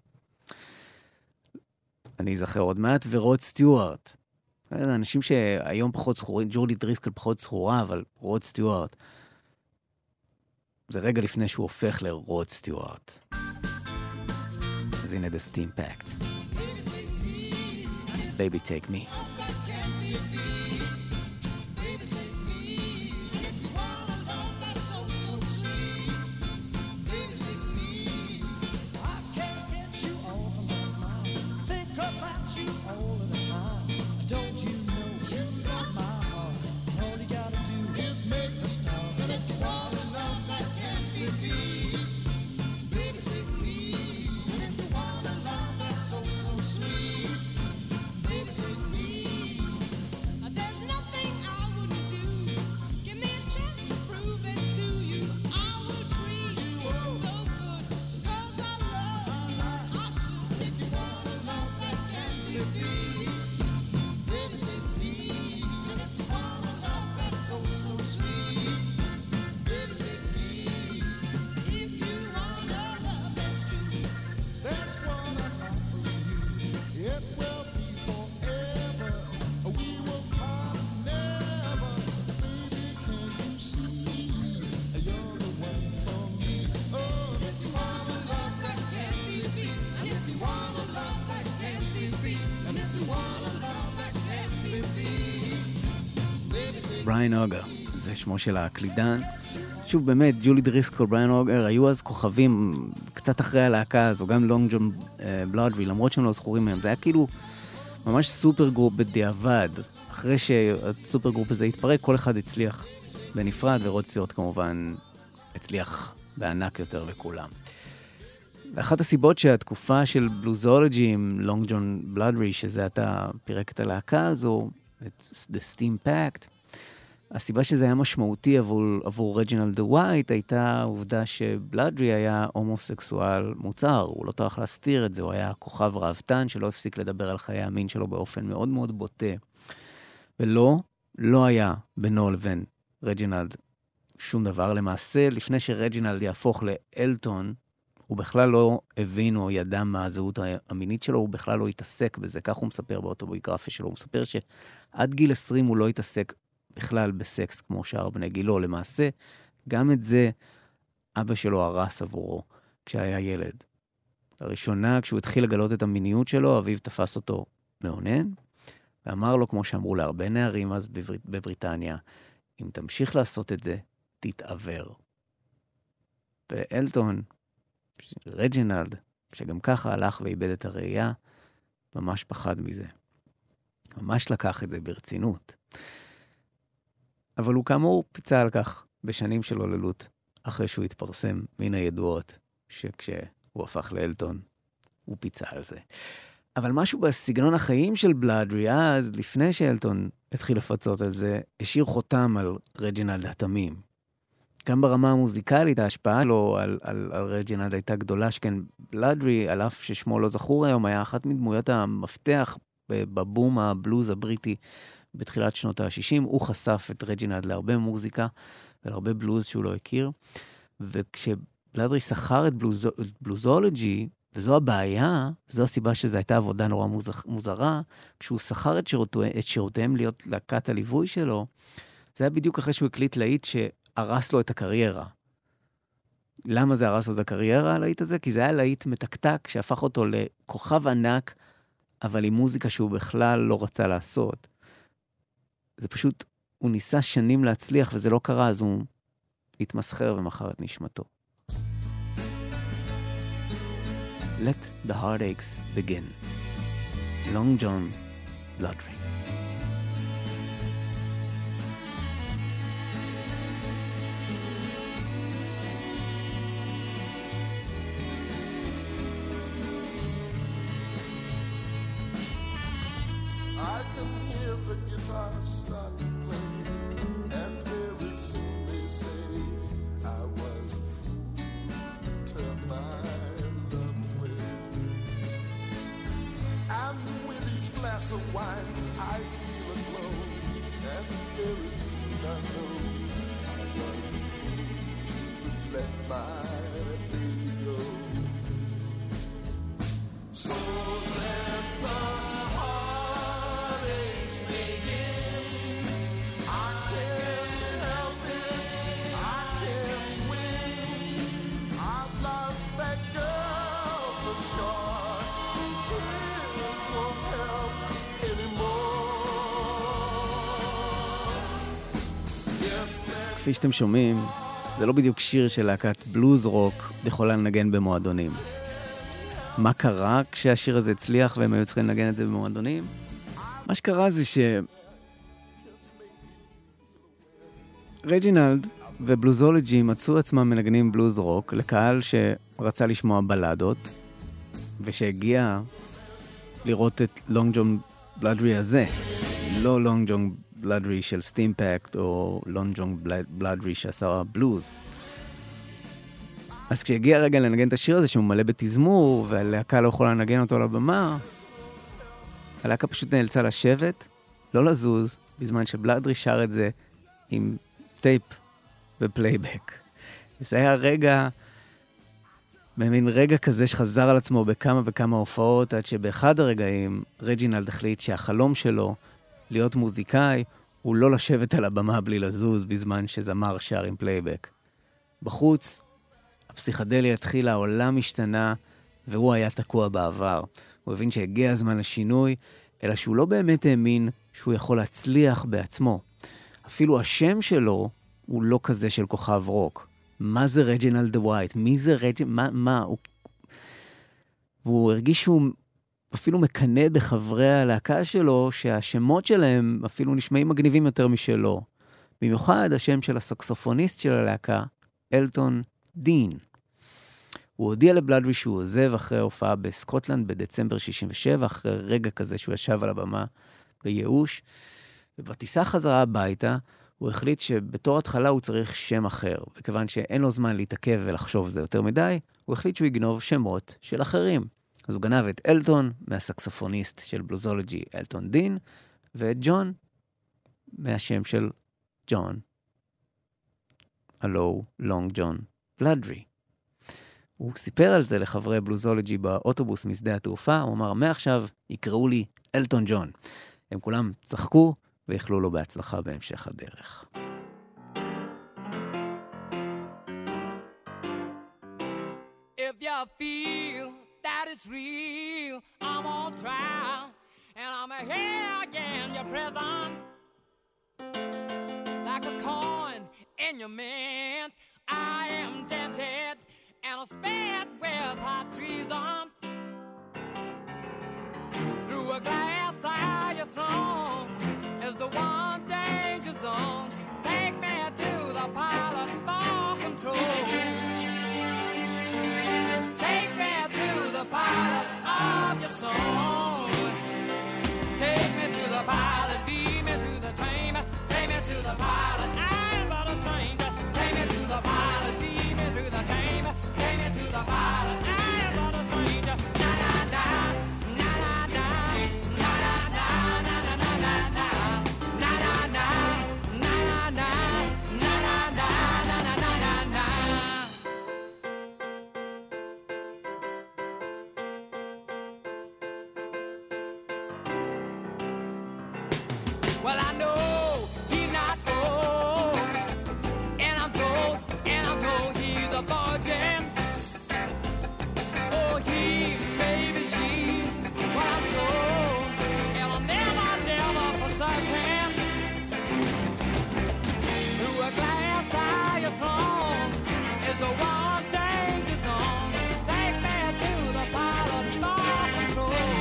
אני אזכר עוד מעט, ורוד סטיוארט. אנשים שהיום פחות זכורים, ג'ולי דריסקו פחות זכורה, אבל רוד סטיוארט. זה רגע לפני שהוא הופך לרוד סטיוארט. אז הנה The Steam Pact. Baby Take Me. בריאן אוגר, זה שמו של הקלידן. שוב, באמת, ג'ולי דריסקול, בריאן אוגר, היו אז כוכבים קצת אחרי הלהקה הזו, גם לונג ג'ון בלאדרי, למרות שהם לא זכורים מהם. זה היה כאילו ממש סופר גרופ בדיעבד. אחרי שהסופר גרופ הזה התפרק, כל אחד הצליח בנפרד, ורוד סטיוארט כמובן הצליח בענק יותר לכולם. ואחת הסיבות שהתקופה של בלוזולוגי עם לונג ג'ון בלאדרי, שזה אתה פירק את הלהקה הזו, את The Steam Pact, הסיבה שזה היה משמעותי עבור, עבור רג'ינלד ווייט הייתה העובדה שבלאדרי היה הומוסקסואל מוצר, הוא לא טרח להסתיר את זה, הוא היה כוכב ראוותן שלא הפסיק לדבר על חיי המין שלו באופן מאוד מאוד בוטה. ולא, לא היה בינו לבין רג'ינלד שום דבר. למעשה, לפני שרג'ינלד יהפוך לאלטון, הוא בכלל לא הבין או ידע מה הזהות המינית שלו, הוא בכלל לא התעסק בזה. כך הוא מספר באוטוביוגרפיה שלו. הוא מספר שעד גיל עשרים הוא לא התעסק בכלל בסקס כמו שאר בני גילו. למעשה, גם את זה אבא שלו הרס עבורו כשהיה ילד. לראשונה, כשהוא התחיל לגלות את המיניות שלו, אביו תפס אותו מעונן, ואמר לו, כמו שאמרו להרבה נערים אז בבר... בבריטניה, אם תמשיך לעשות את זה, תתעבר. ואלטון, רג'ינלד, שגם ככה הלך ואיבד את הראייה, ממש פחד מזה. ממש לקח את זה ברצינות. אבל הוא כאמור פיצה על כך בשנים של הוללות, אחרי שהוא התפרסם מן הידועות, שכשהוא הפך לאלטון, הוא פיצה על זה. אבל משהו בסגנון החיים של בלאדרי, אז לפני שאלטון התחיל לפצות על זה, השאיר חותם על רג'ינלד התמים. גם ברמה המוזיקלית, ההשפעה לו על, על, על רג'ינלד הייתה גדולה, שכן בלאדרי, על אף ששמו לא זכור היום, היה אחת מדמויות המפתח בבום הבלוז הבריטי בתחילת שנות ה-שישים. הוא חשף את רג'ינלד להרבה מוזיקה ולהרבה בלוז שהוא לא הכיר. וכשבלאדרי שכר את בלוז, בלוזולוגי, וזו הבעיה, וזו הסיבה שזו הייתה עבודה נורא מוזרה, כשהוא שכר את, שירותו, את שירותיהם להיות להקת הליווי שלו, זה היה בדיוק אחרי שהוא הקליט להיט שהרס לו את הקריירה. למה זה הרס לו את הקריירה, הלהיט הזה? כי זה היה להיט מתקתק, שהפך אותו לכוכב ענק, אבל עם מוזיקה שהוא בכלל לא רצה לעשות. זה פשוט, הוא ניסה שנים להצליח, וזה לא קרה, אז הוא התמסחר ומחר את נשמתו. Let the heartaches begin. Long John Bladry. I can hear the guitar start to play, and very soon they say I was a fool to turn my love away. And with each glass of wine I feel a glow, and very soon I know I was a fool to let my baby go. So let the כפי שאתם שומעים, זה לא בדיוק שיר של להקת בלוז רוק יכולה לנגן במועדונים. מה קרה כשהשיר הזה הצליח והם היו צריכים לנגן את זה במועדונים? מה שקרה זה ש... רג'ינלד ובלוזולוגי מצאו עצמם מנגנים בלוז רוק לקהל שרצה לשמוע בלדות, ושהגיע לראות את לונג ג'ון בלאדרי הזה, לא לונג ג'ון בלאדרי של סטימפקט או לונג ג'ון בלאדרי שעשה בלוז. אז כשהגיע הרגע לנגן את השיר הזה שהוא מלא בתזמור והלהקה לא יכולה לנגן אותו על הבמה, הלהקה פשוט נאלצה לשבת, לא לזוז, בזמן שבלאדרי שר את זה עם טייפ ופלייבק. וזה היה רגע, במין רגע כזה שחזר על עצמו בכמה וכמה הופעות, עד שבאחד הרגעים רג'ינלד החליט שהחלום שלו להיות מוזיקאי הוא לא לשבת על הבמה בלי לזוז בזמן שזמר שר עם פלייבק. בחוץ, הפסיכדליה התחילה, העולם השתנה, והוא היה תקוע בעבר. הוא הבין שהגיע הזמן לשינוי, אלא שהוא לא באמת האמין שהוא יכול להצליח בעצמו. אפילו השם שלו הוא לא כזה של כוכב רוק. מה זה רג'ינלד ווייט? מי זה רג'ינלד? מה? מה? הוא... והוא הרגיש שהוא אפילו מקנה בחברי הלהקה שלו, שהשמות שלהם אפילו נשמעים מגניבים יותר משלו. במיוחד השם של הסקסופוניסט של הלהקה, אלטון דין. הוא הודיע לבלאדרי שהוא עוזב אחרי ההופעה בסקוטלנד בדצמבר שישים ושבע, אחרי רגע כזה שהוא ישב על הבמה בייאוש, ובטיסה חזרה הביתה, הוא החליט שבתור התחלה הוא צריך שם אחר, וכיוון שאין לו זמן להתעכב ולחשוב זה יותר מדי, הוא החליט שהוא יגנוב שמות של אחרים. אז הוא גנב את אלטון מהסקסופוניסט של בלוזולוגי, אלטון דין, ואת ג'ון מהשם של ג'ון, הלו לונג ג'ון בלאדרי. הוא סיפר על זה לחברי בלוזולוגי באוטובוס משדה התעופה, הוא אמר, מעכשיו יקראו לי אלטון ג'ון. הם כולם צחקו ויכלו לו בהצלחה בהמשך הדרך. If you feel that it's real, I'm on trial, and I'm here again, your prison. Like a coin in your mint, I am dented, and I'm spared with hot treason. Through a glass eye you thrown is the one danger zone. Take me to the pilot for control. Take me to the pilot of your soul. Take me to the pilot, lead me to the chamber. Take me to the pilot, I'm but a stranger. Take me to the pilot, lead me to the chamber. Take me to the pilot, I'm but a stranger. Na na na, na na na, na na na, na na na na na, na na na, na na na, na na na, na na na na na. Well, I know he's not old, and I'm told, and I'm told he's a virgin. Oh, he, maybe she, well, I'm told, and I'm never, never for certain. Through a glass eye you thrown is the one danger zone. Take me to the pilot for control.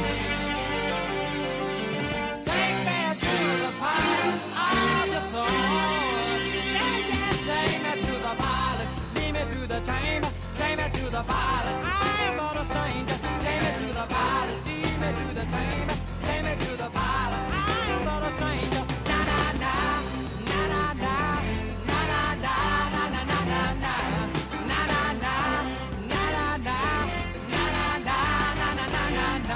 Take me to the pilot of your soul. Yeah, yeah, take me to the pilot. Lead me through the chamber. Take me to the pilot. I am but a stranger. Take me to the pilot. Lead me through the chamber. Take me to the pilot. I am but a stranger. Na na na, na na na, na na na, na na na na na, na na na, na na na, na na na, na na na na na.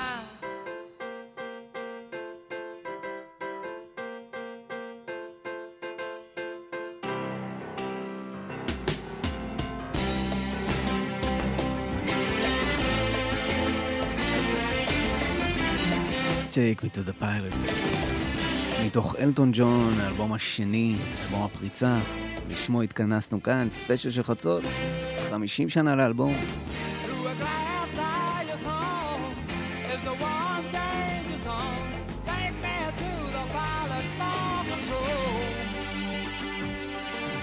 Take me to the pilot. מתוך אלטון ג'ון, האלבום השני, אלבום הפריצה, לשמו התכנסנו כאן, ספיישל של חצות, חמישים שנה לאלבום. Through a glass eye you thrown is the one danger zone. Take me to the pilot for control.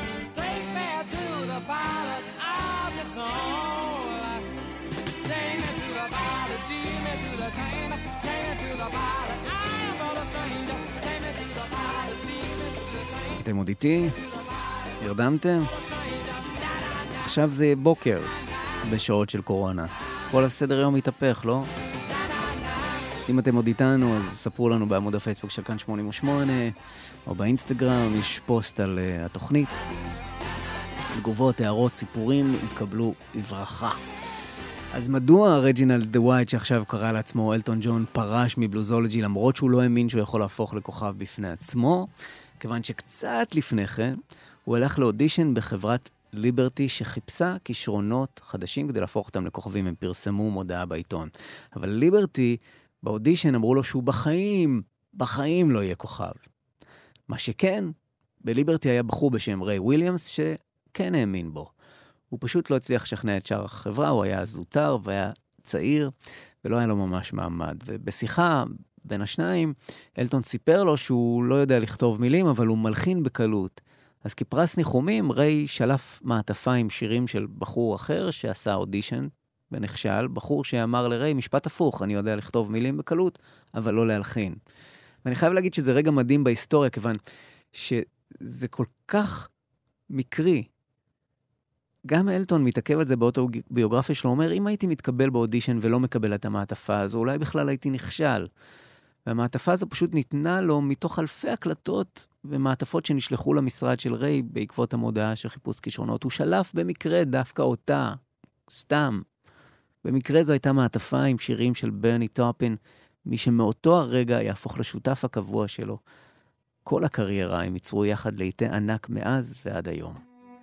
אתם עוד איתי? הרדמתם? עכשיו זה בוקר, בשעות של קורונה. כל הסדר יום מתהפך, לא? אם אתם עוד איתנו, אז ספרו לנו בעמוד הפייסבוק של כאן שמונים ושמונה, או באינסטגרם, יש פוסט על uh, התוכנית. תגובות, הערות, סיפורים, התקבלו בברכה. אז מדוע רג'ינלד דה ווייט, שעכשיו קרא לעצמו אלטון ג'ון, פרש מבלוזולוגי, למרות שהוא לא האמין שהוא יכול להפוך לכוכב בפני עצמו? כיוון שקצת לפני כן, הוא הלך לאודישן בחברת ליברטי שחיפשה כישרונות חדשים כדי להפוך אותם לכוכבים. הם פרסמו מודעה בעיתון. אבל ליברטי, באודישן אמרו לו שהוא בחיים, בחיים לא יהיה כוכב. מה שכן, בליברטי היה בחור בשם ריי וויליאמס שכן האמין בו. הוא פשוט לא הצליח לשכנע את שאר החברה, הוא היה זוטר והיה צעיר, ולא היה לו ממש מעמד. ובשיחה בין השניים, אלטון סיפר לו שהוא לא יודע לכתוב מילים, אבל הוא מלחין בקלות. אז כפרס ניחומים, ריי שלף מעטפה עם שירים של בחור אחר שעשה אודישן, ונכשל, בחור שאמר לריי, משפט הפוך, אני יודע לכתוב מילים בקלות, אבל לא להלחין. ואני חייב להגיד שזה רגע מדהים בהיסטוריה, כיוון שזה כל כך מקרי. גם אלטון מתעכב על זה באוטוביוגרפיה שלו, אומר, אם הייתי מתקבל באודישן ולא מקבל את המעטפה הזו, אולי בכלל הייתי נכשל. והמעטפה הזו פשוט ניתנה לו מתוך אלפי הקלטות ומעטפות שנשלחו למשרד של ריי בעקבות המודעה של חיפוש כישרונות. הוא שלף במקרה דווקא אותה, סתם. במקרה זו הייתה מעטפה עם שירים של ברני טופין, מי שמאותו הרגע יהפוך לשותף הקבוע שלו. כל הקריירה הם ייצרו יחד לעיתי ענק מאז ועד היום.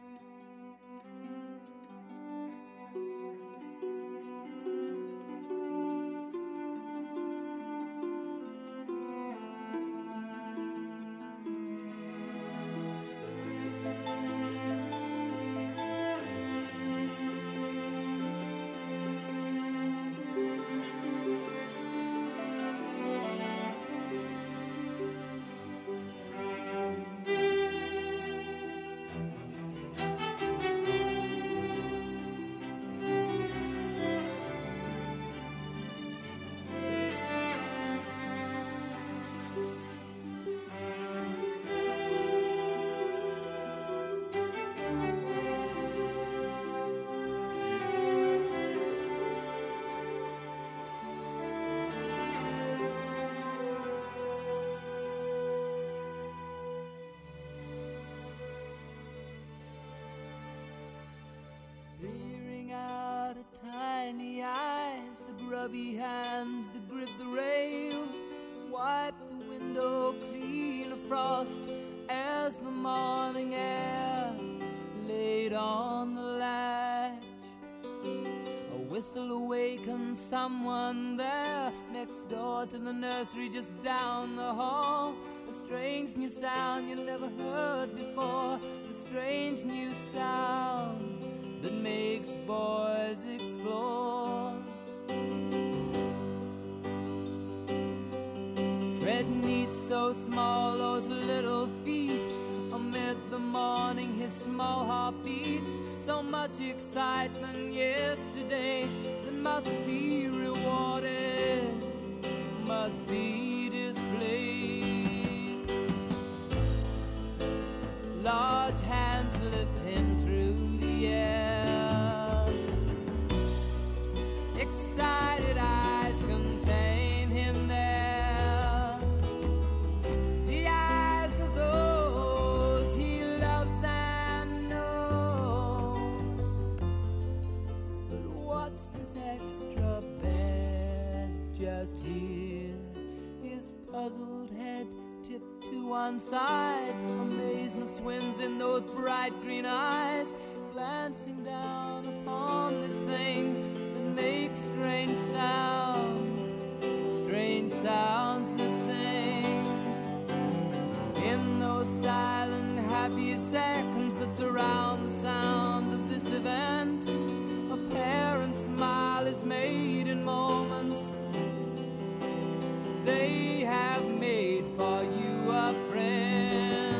Grubby hands that grip the rail, wipe the window clean of frost as the morning air laid on the latch. A whistle awakens someone there next door to the nursery just down the hall. A strange new sound you never heard before, a strange new sound that makes boys explore. Tread neat, so small, those little feet. Amid the morning, his small heart beats. So much excitement yesterday that must be rewarded, must be displayed. Large hands lift him through the air. Excited eyes contain him there. Extra bad just here, his puzzled head tipped to one side. Amazement swims in those bright green eyes, glancing down upon this thing that makes strange sounds, strange sounds that sing. In those silent happy seconds that surround the sound of this event, a parent's smile is made in moments. They have made for you a friend,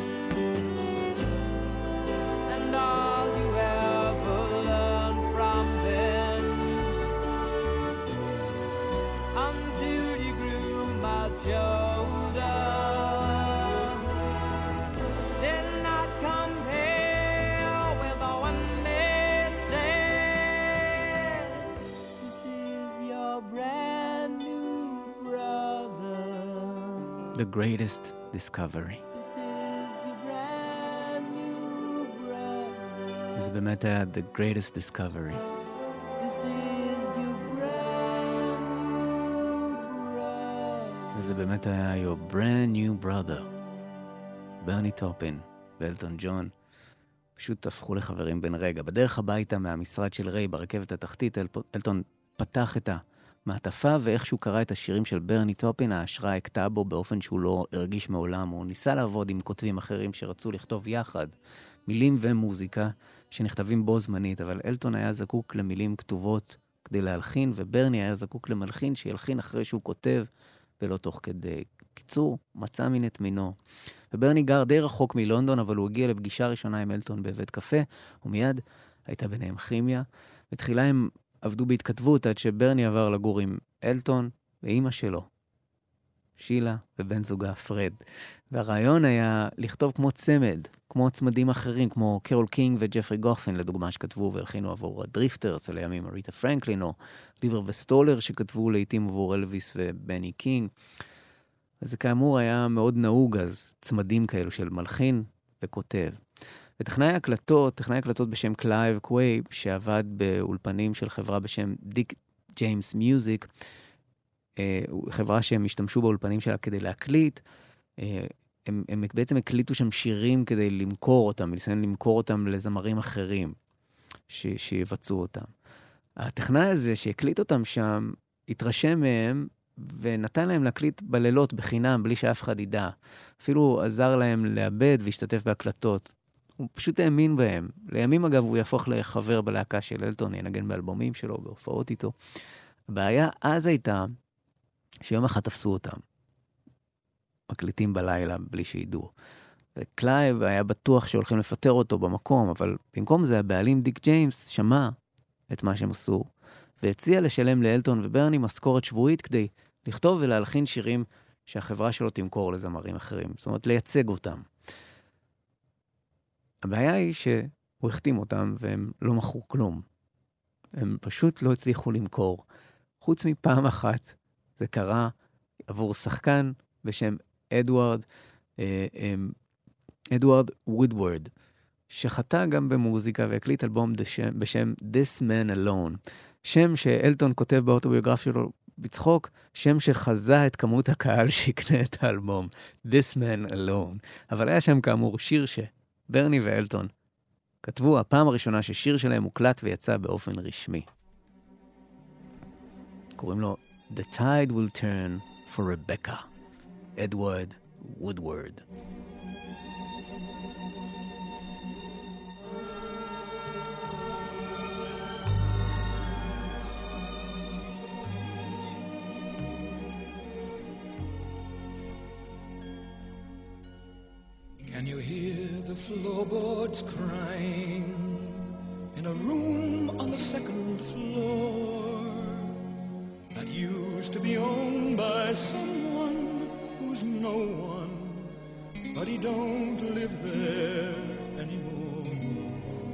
and all you ever learn from them, until you grew much older. Then The Greatest Discovery. זה באמת היה The Greatest Discovery. וזה באמת היה Your Brand New Brother. ברני טופין ואלטון ג'ון פשוט הפכו לחברים בן רגע. בדרך הביתה מהמשרד של ריי ברכבת התחתית, אל... אלטון פתח את המעטפה, ואיכשהו קרא את השירים של ברני טופין, ההשראה הקטעה בו באופן שהוא לא הרגיש מעולם. הוא ניסה לעבוד עם כותבים אחרים שרצו לכתוב יחד מילים ומוזיקה שנכתבים בו זמנית, אבל אלטון היה זקוק למילים כתובות כדי להלחין, וברני היה זקוק למלחין שילחין אחרי שהוא כותב, ולא תוך כדי. קיצור, מצא מין את מינו. וברני גר די רחוק מלונדון, אבל הוא הגיע לפגישה ראשונה עם אלטון בבית קפה, ומיד הייתה ביניהם כימיה. בתחילה הם עבדו בהתכתבות עד שברני עבר לגור עם אלטון ואימא שלו, שילה, ובן זוגה פרד. והרעיון היה לכתוב כמו צמד, כמו צמדים אחרים, כמו קרול קינג וג'פרי גופין, לדוגמה, שכתבו והלחינו עבור הדריפטרס, לימים אריתה פרנקלין, או ליבר וסטולר, שכתבו לעתים עבור אלוויס ובני קינג. וזה כאמור היה מאוד נהוג, אז צמדים כאלו של מלחין וכותב. וטכנאי הקלטות, טכנאי הקלטות בשם קלייב קווייב, שעבד באולפנים של חברה בשם דיק ג'יימס מיוזיק, חברה שהם השתמשו באולפנים שלה כדי להקליט, הם, הם בעצם הקליטו שם שירים כדי למכור אותם, לסיים למכור אותם לזמרים אחרים ש, שיבצעו אותם. הטכנאי הזה שהקליט אותם שם, התרשם מהם ונתן להם להקליט בלילות בחינם, בלי שאף אחד ידע. אפילו עזר להם לאבד והשתתף בהקלטות. הוא פשוט האמין בהם. לימים אגב הוא יהפוך לחבר בלהקה של אלטון, ינגן באלבומים שלו, בהופעות איתו. הבעיה אז הייתה שיום אחד תפסו אותם. מקליטים בלילה בלי שידעו. וקלייב היה בטוח שהולכים לפטר אותו במקום, אבל במקום זה הבעלים דיק ג'יימס שמע את מה שהם עשו, והציע לשלם לאלטון וברני משכורת שבועית כדי לכתוב ולהלחין שירים שהחברה שלו תמכור לזמרים אחרים. זאת אומרת, לייצג אותם. הבעיה היא שהוא החתים אותם והם לא מכרו כלום. הם פשוט לא הצליחו למכור. חוץ מפעם אחת זה קרה עבור שחקן בשם אדוארד, אדוארד וודוורד, שחטא גם במוזיקה והקליט אלבום בשם, בשם This Man Alone. שם שאלטון כותב באוטוביוגרפיה שלו בצחוק, שם שחזה את כמות הקהל שיקנה את האלבום. This Man Alone. אבל היה שם כאמור שיר שברני ואלטון כתבו הפעם הראשונה ששיר שלהם מוקלט ויצא באופן רשמי. קוראים לו The Tide Will Turn for Rebecca. Edward Woodward. Can you hear the floorboards crying in a room on the second floor that used to be owned by someone who's no one, but he don't live there anymore?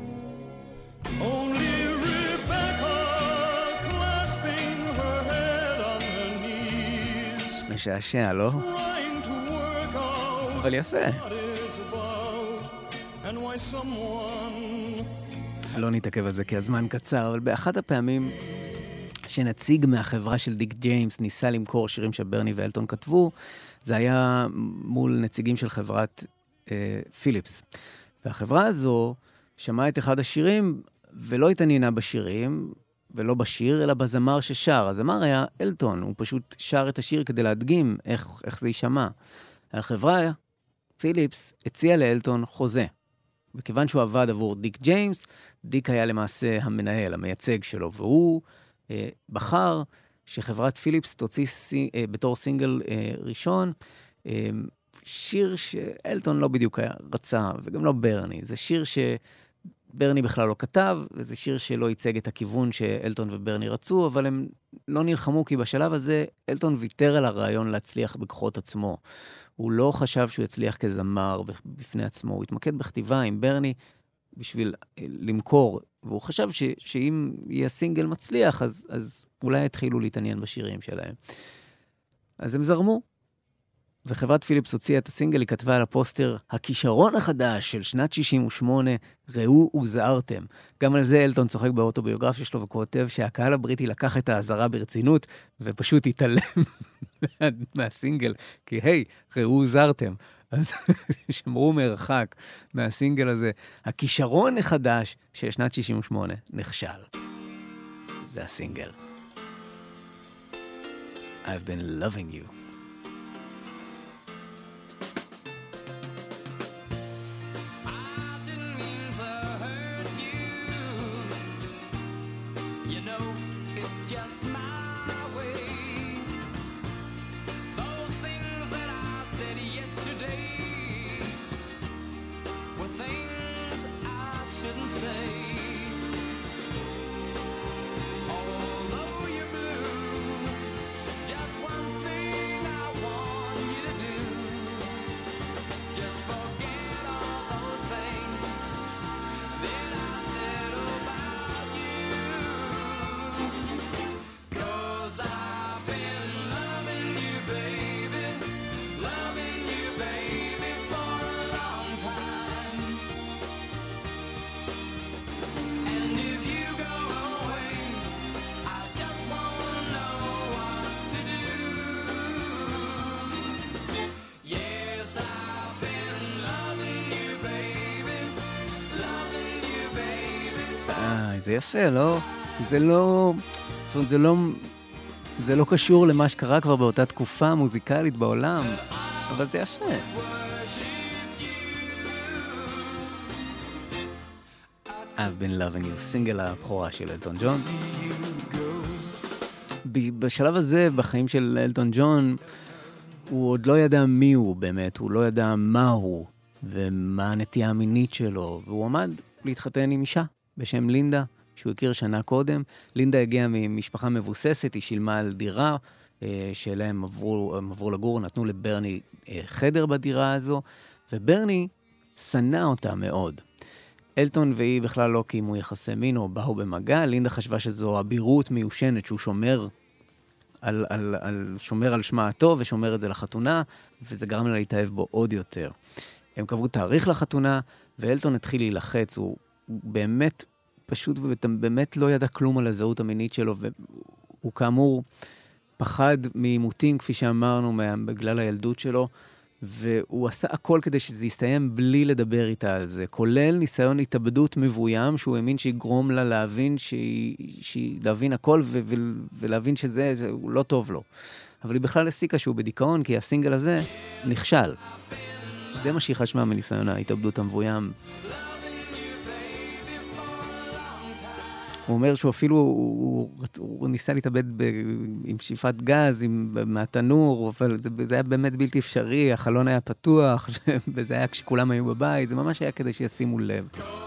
Only Rebecca clasping her head on her knees, משעשע, לא? trying to work out אבל יפה. what is about and why someone לא נתעכב על זה כי הזמן קצר, אבל באחת הפעמים שנציג מהחברה של דיק ג'יימס ניסה למכור שירים שברני ואלטון כתבו, זה היה מול נציגים של חברת אה, פיליפס. והחברה הזו שמעה את אחד השירים ולא התעניינה בשירים, ולא בשיר, אלא בזמר ששר. הזמר היה אלטון, הוא פשוט שר את השיר כדי להדגים איך, איך זה יישמע. החברה, פיליפס, הציעה לאלטון חוזה. וכיוון שהוא עבד עבור דיק ג'יימס, דיק היה למעשה המנהל, המייצג שלו, והוא אה, בחר שחברת פיליפס תוציא סי, אה, בתור סינגל אה, ראשון, אה, שיר שאלטון לא בדיוק היה רצה, וגם לא ברני. זה שיר שברני בכלל לא כתב, וזה שיר שלא ייצג את הכיוון שאלטון וברני רצו, אבל הם לא נלחמו, כי בשלב הזה אלטון ויתר על הרעיון להצליח בכוחות עצמו. הוא לא חשב שהוא יצליח כזמר בפני עצמו, הוא התמקד בכתיבה עם ברני בשביל למכור, והוא חשב ש, שאם יהיה סינגל מצליח, אז, אז אולי יתחילו להתעניין בשירים שלהם. אז הם זרמו. וחברת פיליפס הוציאה את הסינגל, היא כתבה על הפוסטר, הכישרון החדש של שנת שישים ושמונה, ראו וזהרתם. גם על זה אלטון צוחק באוטוביוגרפיה שלו וכותב שהקהל הבריטי לקח את האזהרה ברצינות, ופשוט התעלם מהסינגל, כי היי, ראו וזהרתם. אז שמרו מרחק מהסינגל הזה. הכישרון החדש של שנת שישים ושמונה נכשל. זה הסינגל. I've been loving you. זה יפה, לא? זה לא... זאת אומרת, זה לא... זה לא קשור למה שקרה כבר באותה תקופה מוזיקלית בעולם, אבל זה יפה. I've been loving you, סינגל הבכורה של אלטון ג'ון. בשלב הזה, בחיים של אלטון ג'ון, הוא עוד לא ידע מי הוא באמת, הוא לא ידע מה הוא, ומה הנטייה המינית שלו, והוא עמד להתחתן עם אישה. בשם לינדה, שהוא הכיר שנה קודם. לינדה הגיעה ממשפחה מבוססת, היא שילמה על דירה, שאלה הם עברו, הם עברו לגור, נתנו לברני חדר בדירה הזו, וברני שנא אותה מאוד. אלטון והיא בכלל לא קיימו יחסי מין או באו במגע, לינדה חשבה שזו אבירות מיושנת, שהוא שומר על, על, על, שומר על שמה הטוב ושומר את זה לחתונה, וזה גרם לה להתאהב בו עוד יותר. הם קבעו תאריך לחתונה, ואלטון התחיל להילחץ, הוא באמת פשוט ובאמת לא ידע כלום על הזהות המינית שלו, והוא כאמור פחד מעימותים, כפי שאמרנו, בגלל הילדות שלו, והוא עשה הכל כדי שזה יסתיים בלי לדבר איתה על זה, כולל ניסיון התאבדות מבוים, שהוא האמין שיגרום לה להבין, שהיא, שהיא, להבין הכל ו- ו- ולהבין שזה זה, לא טוב לו. אבל היא בכלל הסיקה שהוא בדיכאון, כי הסינגל הזה נכשל. זה מה שהיא חשבה מניסיון ההתאבדות המבוים. הוא אומר שהוא אפילו, הוא, הוא, הוא ניסה להתאבד ב, עם שאיפת גז, עם, מהתנור, אבל זה, זה היה באמת בלתי אפשרי, החלון היה פתוח, וזה היה כשכולם היו בבית, זה ממש היה כדי שישימו לב.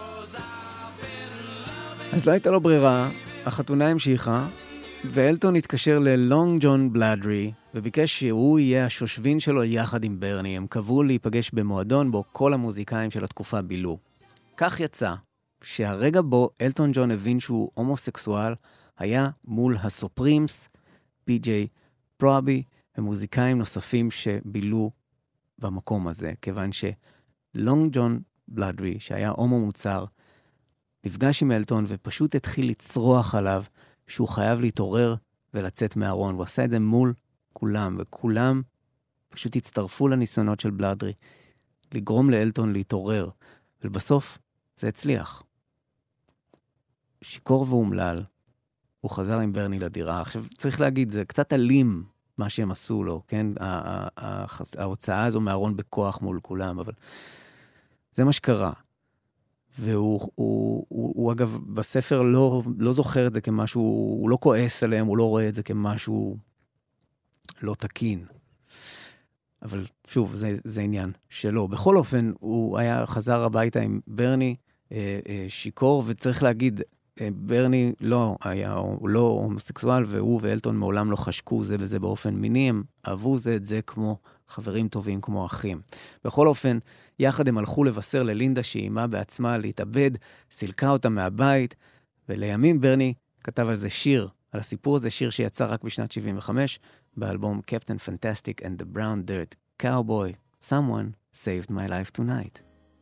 אז לא הייתה לו ברירה, החתונה המשיכה, ואלטון התקשר ללונג ג'ון בלאדרי, וביקש שהוא יהיה השושבין שלו יחד עם ברני. הם קבעו להיפגש במועדון בו כל המוזיקאים של התקופה בילו. כך יצא שהרגע בו אלטון ג'ון הבין שהוא הומוסקסואל, היה מול הסופרימס, פי ג'יי פרובי, ומוזיקאים נוספים שבילו במקום הזה, כיוון שלונג ג'ון בלאדרי, שהיה הומו מוצר, נפגש עם אלטון ופשוט התחיל לצרוח עליו שהוא חייב להתעורר ולצאת מהארון. הוא עשה את זה מול כולם, וכולם פשוט הצטרפו לניסיונות של בלאדרי, לגרום לאלטון להתעורר, ובסוף זה הצליח. שיקור ואומלל, הוא חזר עם ברני לדירה. עכשיו, צריך להגיד, זה קצת אלים מה שהם עשו לו, כן? ההוצאה הזו מהארון בכוח מול כולם, אבל זה מה שקרה. והוא, הוא, הוא, הוא אגב, בספר לא, לא זוכר את זה כמשהו, הוא לא כועס עליהם, הוא לא רואה את זה כמשהו לא תקין. אבל שוב, זה, זה עניין שלו. בכל אופן, הוא היה חזר הביתה עם ברני אה, אה, שיקור, וצריך להגיד, אה, ברני לא היה, הוא לא הומוסקסואל, והוא ואלטון מעולם לא חשקו זה וזה באופן מיני, הם אהבו זה את זה כמו חברים טובים, כמו אחים. בכל אופן, יחד הם הלכו לבשר ללינדה שאימה בעצמה להתאבד, סילקה אותה מהבית, ולימים ברני כתב על זה שיר, על הסיפור הזה, שיר שיצא רק בשנת שבעים וחמש, באלבום Captain Fantastic and the Brown Dirt Cowboy, someone saved my life tonight.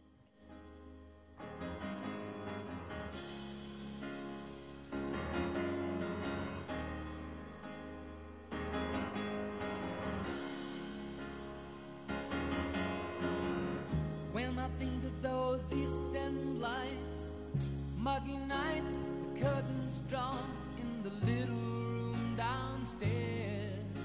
When I think of those East End lights, muggy nights, the curtains drawn in the little room downstairs.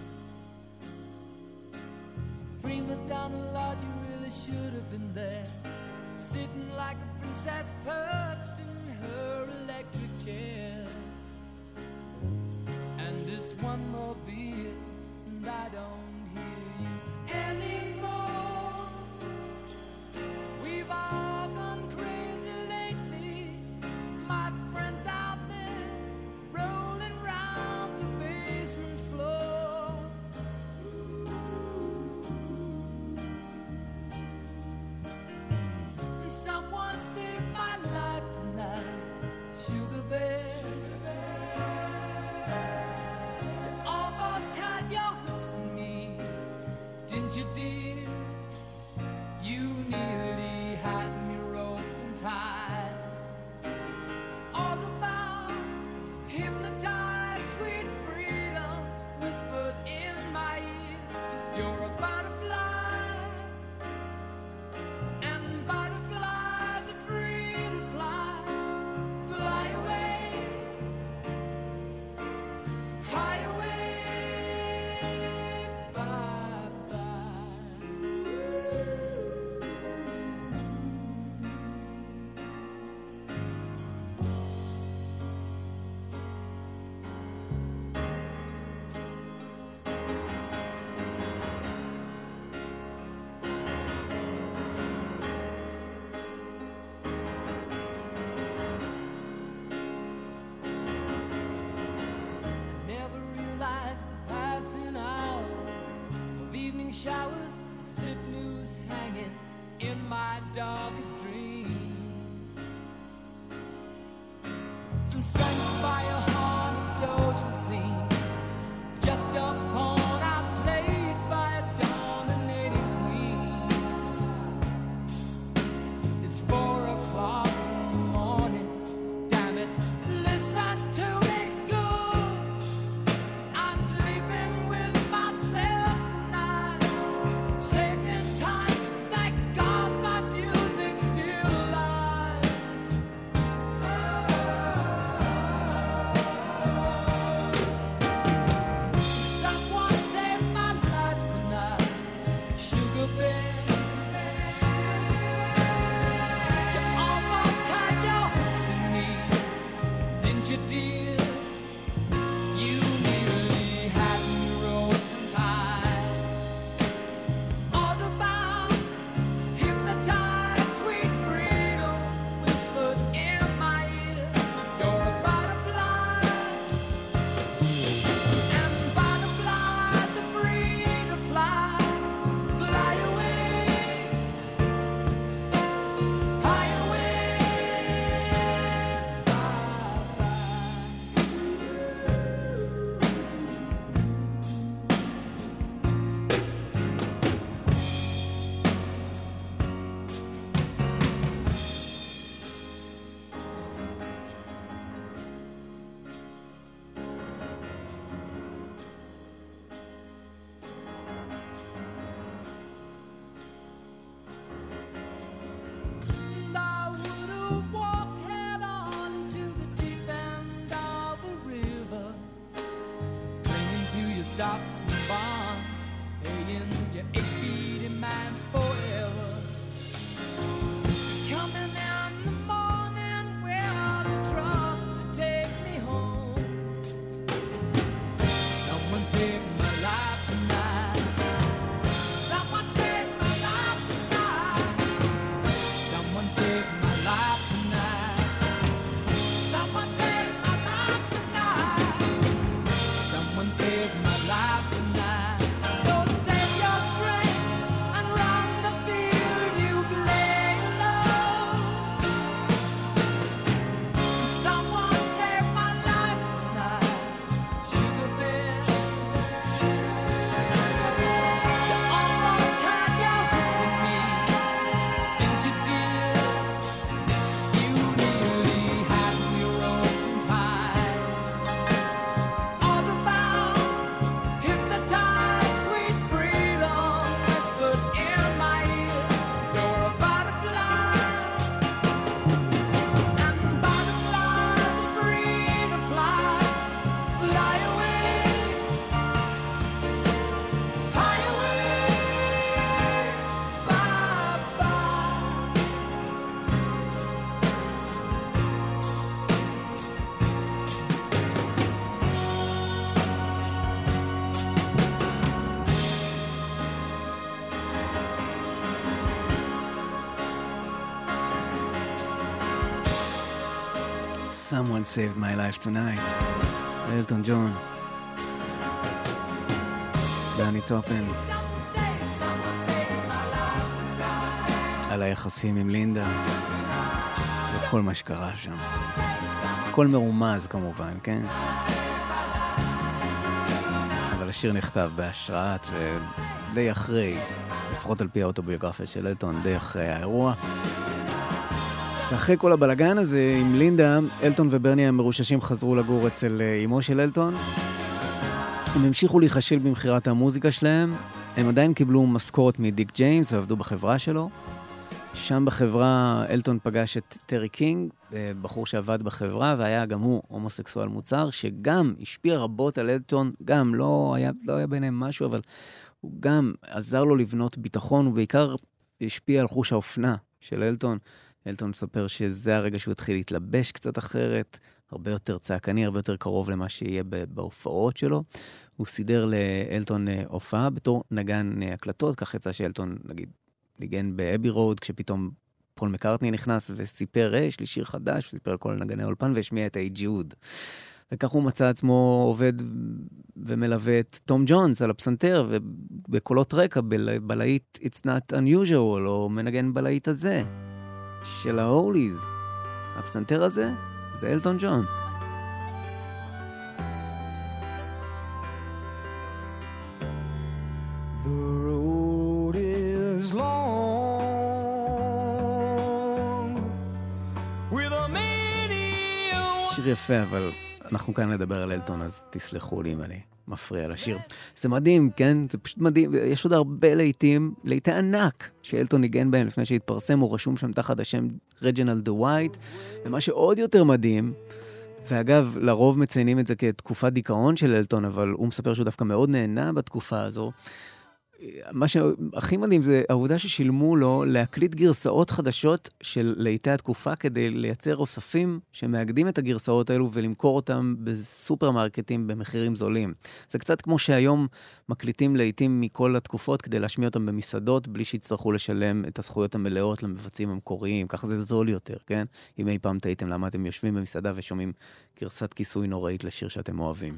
Prima donna, Lord, you really should have been there, sitting like a princess perched in her electric chair. And this one more beer, and I don't hear you anymore. We've all gone crazy lately, my friends out there, rolling round the basement floor. And someone saved my life tonight, Sugar Bear. You almost had your hooks in me, didn't you, dear? You nearly had me roped and tied. All about hypnotized, sweet freedom whispered in my ear. You're a butterfly, and butterflies are free to fly. Fly away, high away, bye bye. Never realized the passing hours of evening showers, slip news hanging in my darkest dreams. I'm strangled by a haunted social scene, just a pawn outplayed by a dominating queen. It's four o'clock in the morning, damn it, listen to me good. I'm sleeping with myself tonight, saved in time, thank God my music's still alive. Oh. Someone Saved My Life Tonight. אלטון ג'ון. דני טופן. על היחסים עם לינדה. וכל מה שקרה שם. הכל מרומז כמובן, כן? אבל השיר נכתב בהשראת ודי אחרי, לפחות על פי האוטוביוגרפיה של אלטון, די אחרי האירוע. ואחרי כל הבלגן הזה עם לינדה, אלטון וברני המרוששים חזרו לגור אצל אמו של אלטון. הם המשיכו להיחשל במחירת המוזיקה שלהם. הם עדיין קיבלו משכורת מדיק ג'יימס ועבדו בחברה שלו. שם בחברה אלטון פגש את טרי קינג, בחור שעבד בחברה, והיה גם הוא הומוסקסואל מוצר, שגם השפיע רבות על אלטון, גם לא היה, לא היה ביניהם משהו, אבל הוא גם עזר לו לבנות ביטחון, ובעיקר השפיע על חוש האופנה של אלטון. אלטון מספר שזה הרגע שהוא התחיל להתלבש קצת אחרת, הרבה יותר צעקני, הרבה יותר קרוב למה שיהיה בהופעות שלו. הוא סידר לאלטון הופעה בתור נגן הקלטות, כך יצא שאלטון, נגיד, ניגן באבי רוד, כשפתאום פול מקארטני נכנס וסיפר, יש לי שיר חדש, וסיפר על כל נגני האולפן, והשמיע את איי ג'וד. וכך הוא מצא עצמו עובד ומלווה את תום ג'ונס על הפסנתר, ובקולות רקע, בלהיט It's Not Unusual, או מנגן בלהיט הזה, של ההוליז. הפסנתר הזה, זה אלטון ג'ון. שיר יפה, אבל אנחנו כאן לדבר על אלטון, אז תסלחו לי אם אני מפריע לשיר. זה מדהים, כן? זה פשוט מדהים. יש עוד הרבה להיטים, להיטי ענק שאלטון ניגן בהם לפני שהתפרסם, הוא רשום שם תחת השם רג'ינלד דווייט, ומה שעוד יותר מדהים, ואגב, לרוב מציינים את זה כתקופת דיכאון של אלטון, אבל הוא מספר שהוא דווקא מאוד נהנה בתקופה הזו. מה שהכי מדהים זה העובדה ששילמו לו להקליט גרסאות חדשות של להיטי התקופה כדי לייצר אוספים שמאגדים את הגרסאות האלו ולמכור אותם בסופרמרקטים במחירים זולים. זה קצת כמו שהיום מקליטים להיטים מכל התקופות כדי להשמיע אותם במסעדות בלי שיצטרכו לשלם את הזכויות המלאות למבצעים המקוריים. ככה זה זול יותר, כן? אם אי פעם תהיתם למה אתם יושבים במסעדה ושומעים גרסת כיסוי נוראית לשיר שאתם אוהבים.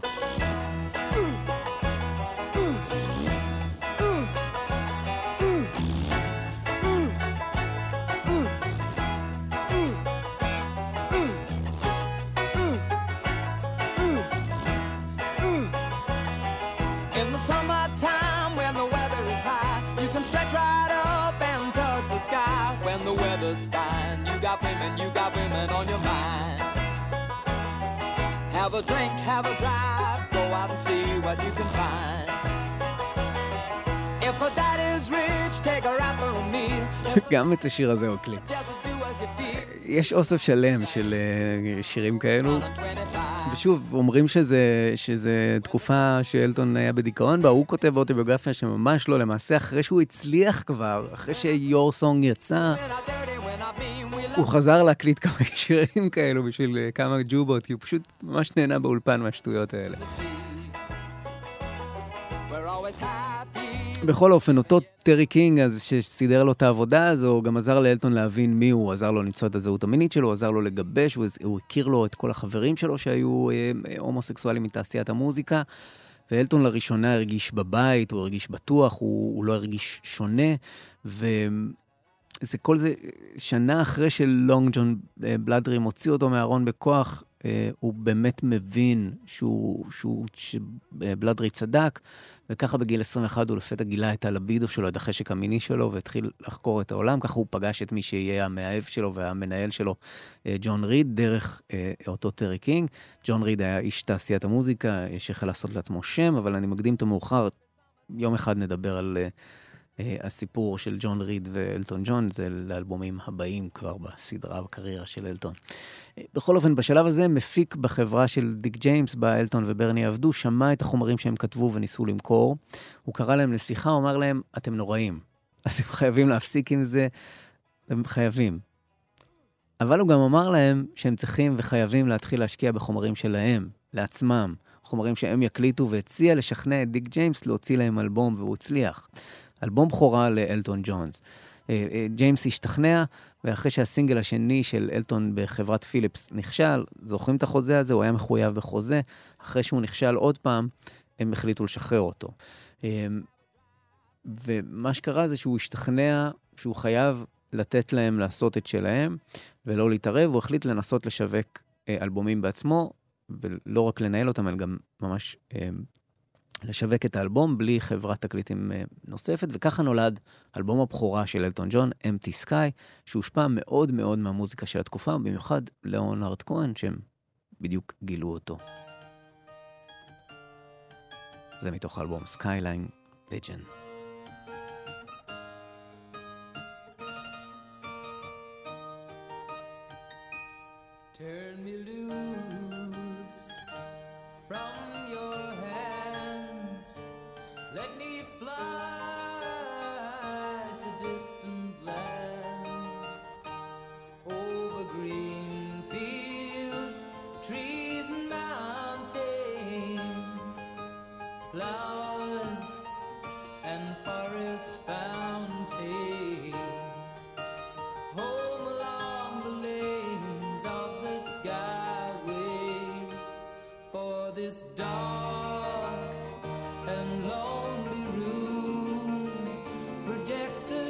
Fine. You got women, you got women on your mind. Have a drink, have a drive, go out and see what you can find. If a daddy's rich, take her out for a meal. גם את השיר הזה הוא קליט. יש אוסף שלם של שירים כאלו, ושוב, אומרים שזה, שזה תקופה שאלטון היה בדיכאון בה, הוא כותב באוטוביוגרפיה שממש לא, למעשה אחרי שהוא הצליח כבר, אחרי ש-Your Song יצא, הוא חזר להקליט כמה שירים כאלו בשביל כמה ג'ובות, כי הוא פשוט ממש נהנה באולפן מהשטויות האלה. בכל אופן, אותו טרי קינג, אז שסידר לו את העבודה הזו, הוא גם עזר לאלטון להבין מי הוא, עזר לו למצוא את הזהות המינית שלו, עזר לו לגבש, הוא, הוא הכיר לו את כל החברים שלו שהיו אה, הומוסקסואלים מתעשיית המוזיקה, ואלטון לראשונה הרגיש בבית, הוא הרגיש בטוח, הוא, הוא לא הרגיש שונה, וזה כל זה שנה אחרי שלונג ג'ון בלאדרים הוציא אותו מהארון בכוח, הוא באמת מבין שהוא, שהוא, שבלאדרי צדק, וככה בגיל עשרים ואחת הוא לפתע גילה את הלבידו שלו, את החשק המיני שלו, והתחיל לחקור את העולם, ככה הוא פגש את מי שיהיה המאהב שלו והמנהל שלו, ג'ון ריד, דרך אותו טרי קינג. ג'ון ריד היה איש תעשיית המוזיקה, שהחל לעשות לעצמו שם, אבל אני מקדים את המאוחר, יום אחד נדבר על הסיפור של ג'ון ריד ואלטון ג'ון, זה לאלבומים הבאים כבר בסדרה, בקריירה של אלטון. בכל אופן, בשלב הזה מפיק בחברה של דיק ג'יימס, בה אלטון וברני עבדו, שמע את החומרים שהם כתבו וניסו למכור. הוא קרא להם לשיחה, הוא אמר להם, אתם נוראים. אתם חייבים להפסיק עם זה, אתם חייבים. אבל הוא גם אמר להם שהם צריכים וחייבים להתחיל להשקיע בחומרים שלהם, לעצמם, חומרים שהם יקליטו, והציע לשכנע את דיק ג'יימס להוציא להם אלבום, והוא הצליח. אלבום בכורה לאלטון ג'ונס. ג'יימס השתכנע, ואחרי שהסינגל השני של אלטון בחברת פיליפס נכשל, זוכרים את החוזה הזה, הוא היה מחויב בחוזה, אחרי שהוא נכשל עוד פעם, הם החליטו לשחרר אותו. ומה שקרה זה שהוא השתכנע, שהוא חייב לתת להם לעשות את שלהם, ולא להתערב, הוא החליט לנסות לשווק אלבומים בעצמו, ולא רק לנהל אותם, אלא גם ממש לשווק את האלבום בלי חברת תקליטים נוספת, וככה נולד אלבום הבכורה של אלטון ג'ון, Empty Sky, שהושפע מאוד מאוד מהמוזיקה של התקופה, במיוחד ליאונרד כהן, שהם בדיוק גילו אותו. זה מתוך האלבום Skyline Legend. Turn me loose from your hands. Let me fly to distant lands, over green fields, trees and mountains, flowers and forest fountains, home along the lanes of the skyway, for this dark and lonely room projects a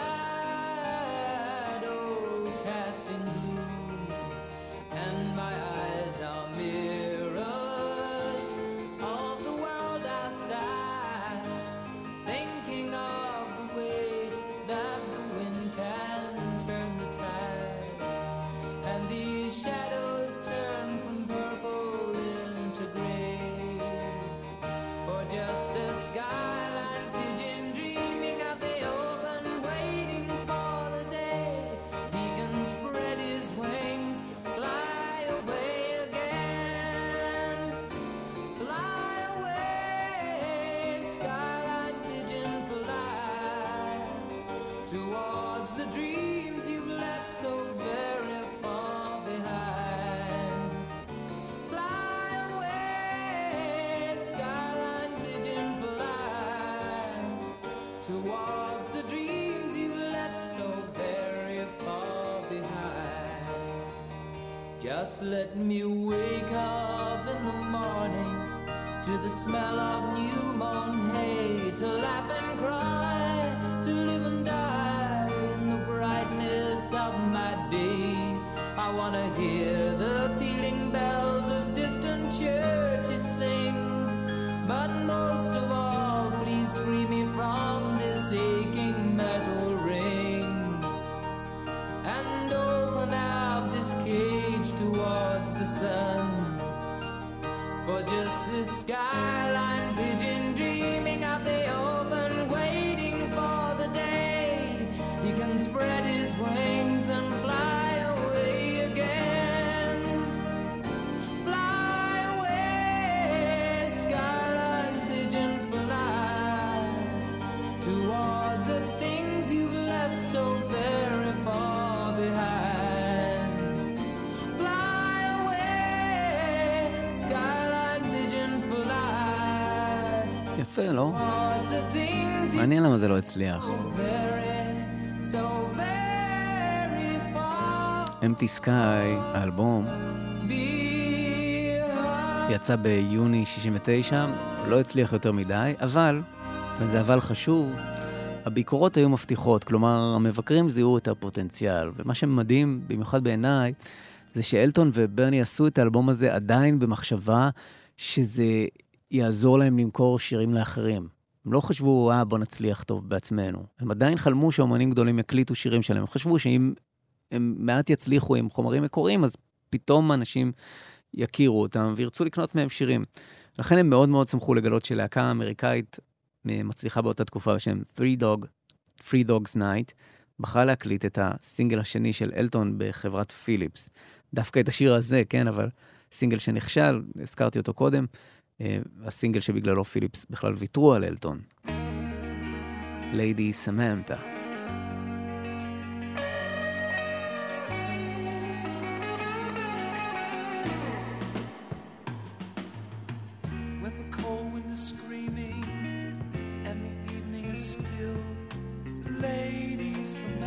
shadow casting gloom, and my eyes are mirrors of the world outside, thinking of the way that the wind can turn the tide, and these shadows turn from purple into gray, for just a skyline pigeon dreaming of the open, waiting for the day he can spread his wings, fly away again, fly away, skyline pigeon, fly towards the dreams you've left so very far behind. Fly away, skyline pigeon, fly towards the dreams you've left so very far behind. Just let me wake up in the morning to the smell of new mown hay, to laugh and cry, to live and die in the brightness of my day. I want to hear the pealing bells of distant churches sing, but most of all, please free me from this aching metal ring, and open up this cage towards the sun, for just this skyline pigeon dreaming of the open, waiting for the day he can spread his wings and fly away again. Fly away, skyline pigeon, fly towards the things you've left so very far behind. Fly away, skyline pigeon, fly יפה, לא? towards the things you מעניין למה זה לא הצליח. so very, so very far Empty Sky, האלבום, behind. יצא ביוני שישים ותשע, לא הצליח יותר מדי, אבל, וזה אבל חשוב, הביקורות היו מבטיחות, כלומר, המבקרים זיהו את הפוטנציאל, ומה שמדהים, במיוחד בעיניי, זה שאלטון וברני עשו את האלבום הזה עדיין במחשבה שזה יעזור להם למכור שירים לאחרים. הם לא חשבו, אה, בוא נצליח טוב בעצמנו. הם עדיין חלמו שאומנים גדולים יקליטו שירים שלהם. הם חשבו שאם הם מעט יצליחו עם חומרים מקוריים, אז פתאום אנשים יכירו אותם וירצו לקנות מהם שירים. לכן הם מאוד מאוד שמחו לגלות שלהקה אמריקאית מצליחה באותה תקופה בשם Three Dog, Three Dogs Night, בחרה להקליט את הסינגל השני של אלטון בחברת פיליפס. דווקא את השיר הזה, כן, אבל סינגל שנכשל, הזכרתי אותו קודם, הסינגל שבגללו פיליפס בכלל ויתרו על אלטון. Lady Samantha. When the cold wind is screaming and the evening is still, Lady Samantha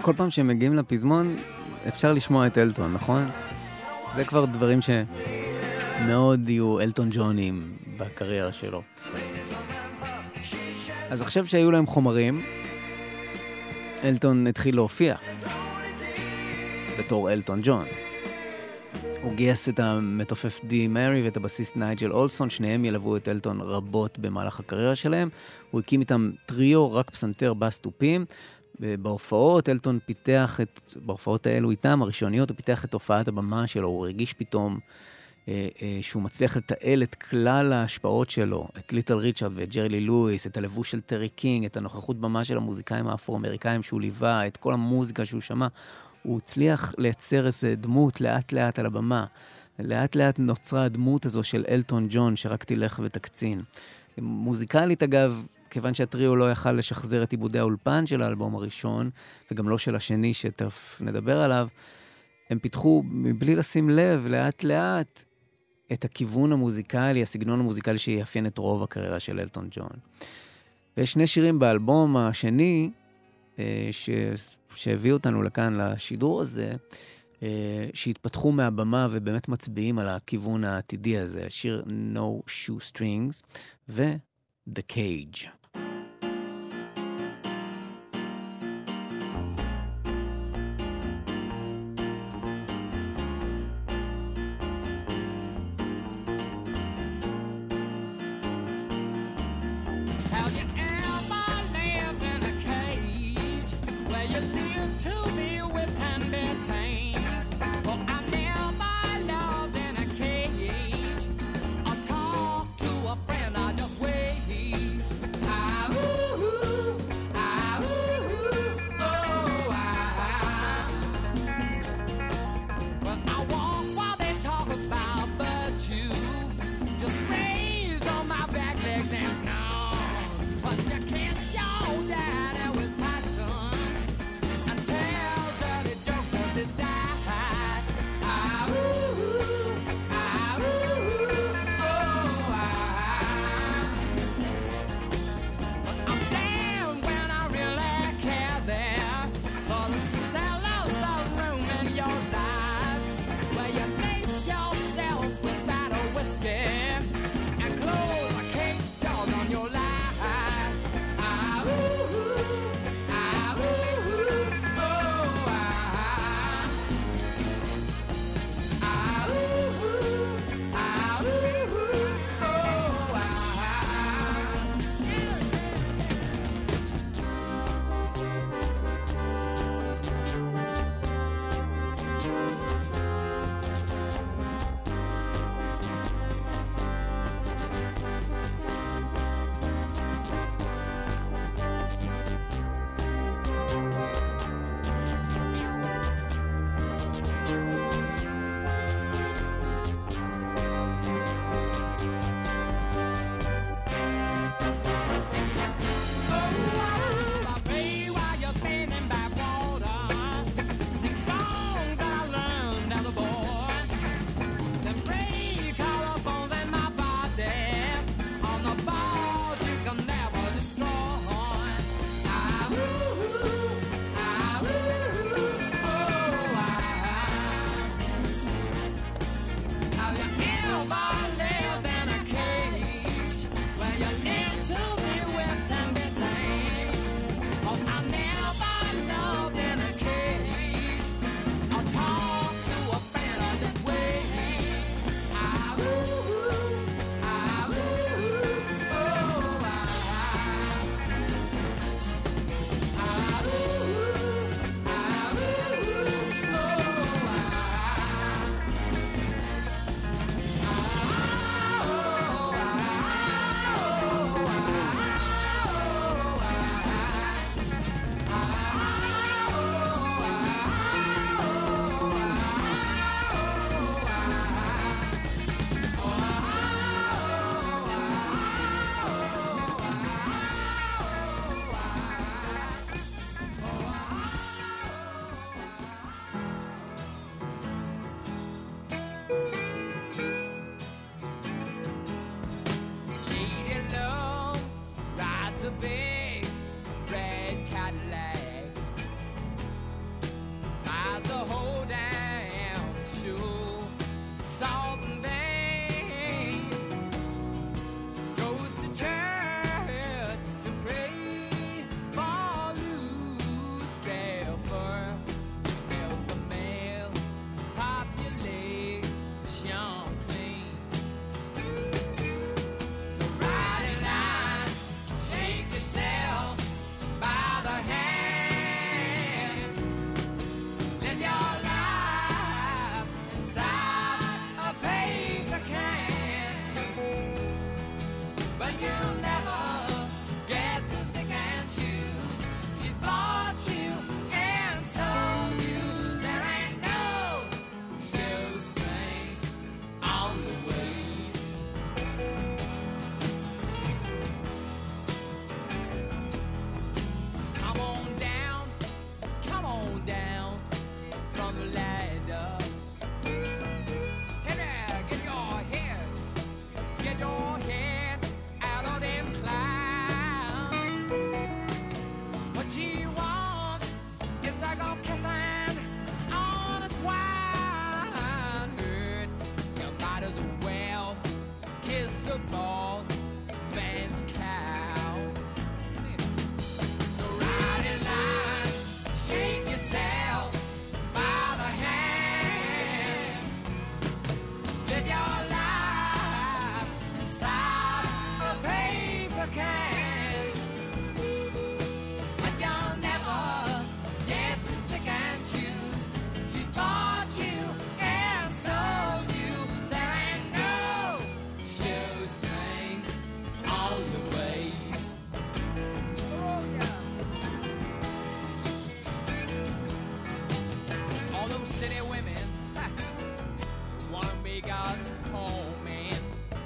כל פעם שהם מגיעים לפזמון, אפשר לשמוע את אלטון, נכון? זה כבר דברים שמאוד יהיו אלטון ג'ונים בקריירה שלו. אז עכשיו שהיו להם חומרים, אלטון התחיל להופיע בתור אלטון ג'ון. הוא גייס את המתופף די מרי ואת הבסיסט נייג'ל אולסון, שניהם ילוו את אלטון רבות במהלך הקריירה שלהם. הוא הקים איתם טריו, רק פסנתר, בס תופים. בהופעות, אלטון פיתח את, בהופעות האלו איתם, הראשוניות, הוא פיתח את הופעת הבמה שלו, הוא הרגיש פתאום אה, אה, שהוא מצליח לתעל את כלל ההשפעות שלו, את ליטל ריצ'רד ואת ג'רי לי לואיס, את הלבוש של טרי קינג, את הנוכחות במה של המוזיקאים האפרו-אמריקאים שהוא ליווה, את כל המוזיקה שהוא שמע. הוא הצליח לייצר איזו דמות לאט לאט על הבמה. לאט לאט נוצרה הדמות הזו של אלטון ג'ון, שרק תלך ותקצין. מוזיקלית אגב, כיוון שהטריו לא יכל לשחזר את עיבודי האולפן של האלבום הראשון, וגם לא של השני שתכף נדבר עליו, הם פיתחו מבלי לשים לב לאט לאט את הכיוון המוזיקלי, הסגנון המוזיקלי שיאפיין את רוב הקריירה של אלטון ג'ון. ויש שני שירים באלבום השני, ש... שהביא אותנו לכאן לשידור הזה, שהתפתחו מהבמה ובאמת מצביעים על הכיוון העתידי הזה, השיר No Shoestrings ו... The Cage. Tell city women wanna make us poor men.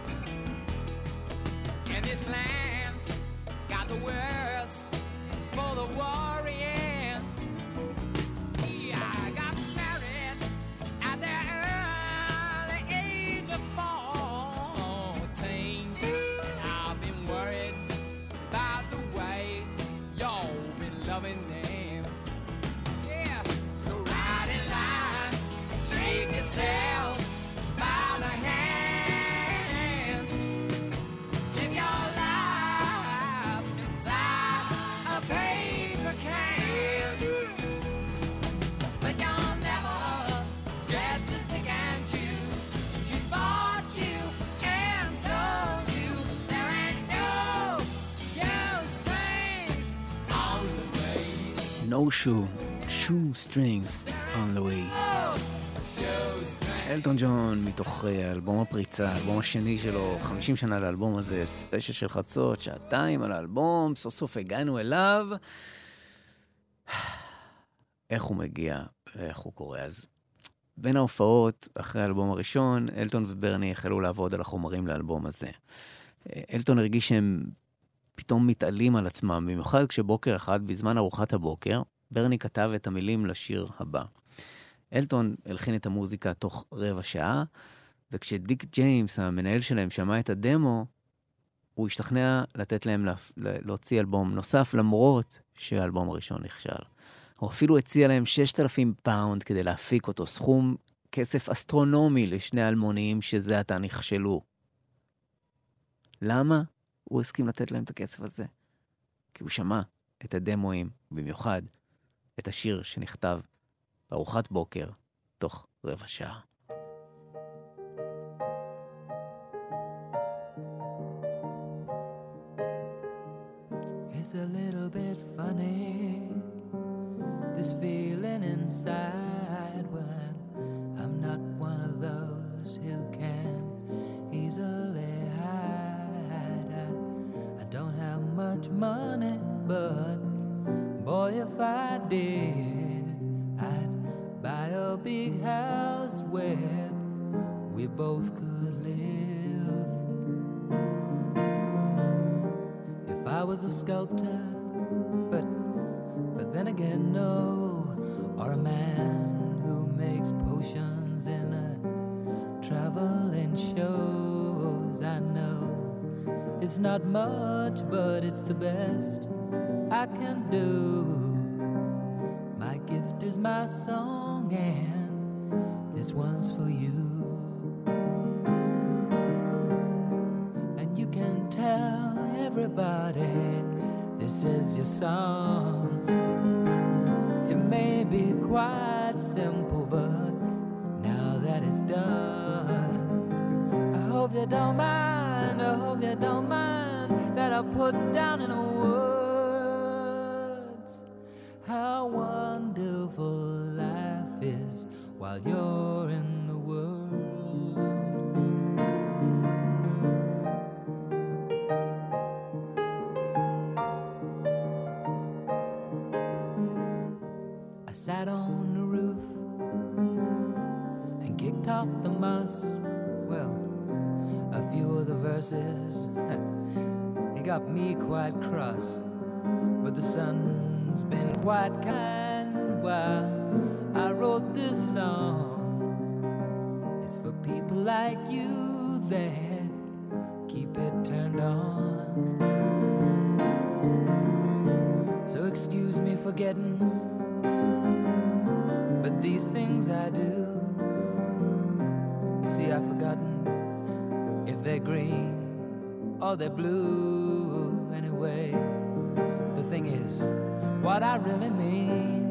And this land's got the worst for the worrying. Yeah, I got married at the early age of fourteen, and I've been worried about the way y'all been loving them. Yeah, so ride in line and shake yourself by the hand. Live your life inside a paper can, but you'll never get to pick and choose. She bought you and sold you. There ain't no shoestrings on the way. No shoe, shoe strings on the way. אלטון ג'ון מתוך אה, אלבום הפריצה, האלבום השני שלו, חמישים שנה לאלבום הזה, ספיישל של חצות, שעתיים על האלבום, סוף סוף הגענו אליו. איך הוא מגיע, איך הוא קורא. אז בין ההופעות, אחרי האלבום הראשון, אלטון וברני החלו לעבוד על החומרים לאלבום הזה. אה, אלטון הרגיש שהם פתאום מתעלים על עצמם, במיוחד כשבוקר אחד, בזמן ארוחת הבוקר, ברני כתב את המילים לשיר הבא. אלטון הלחין את המוזיקה תוך רבע שעה, וכשדיק ג'יימס, המנהל שלהם, שמע את הדמו, הוא השתכנע לתת להם להוציא אלבום נוסף, למרות שהאלבום הראשון נכשל. הוא אפילו הציע להם שישת אלפים פאונד כדי להפיק אותו, סכום כסף אסטרונומי לשני אלמוניים שזה עתה נכשלו. למה הוא הסכים לתת להם את הכסף הזה? כי הוא שמע את הדמואים, במיוחד את השיר שנכתב בארוחת בוקר, תוך רבע שעה. It's a little bit funny, this feeling inside. Well, I'm, I'm not one of those who can easily hide. I, I don't have much money, but boy, if I did, I'd buy a big house where we both could live. If I was a sculptor, but but then again no, or a man who makes potions in a traveling shows. I know it's not much, but it's the best I can do. My gift is my song, and this one's for you. And you can tell everybody this is your song. It may be quite simple, but now that it's done, I hope you don't mind, I hope you don't mind that I put down in a words how wonderful life is while you're in the world. I sat on the roof and kicked off the moss. Well, a few of the verses, it got me quite cross, but the sun's been quite kind while I wrote this song. It's for people like you that keep it turned on. So excuse me for getting, but these things I do, you see, I've forgotten if they're green or they're blue. Anyway, the thing is, what I really mean,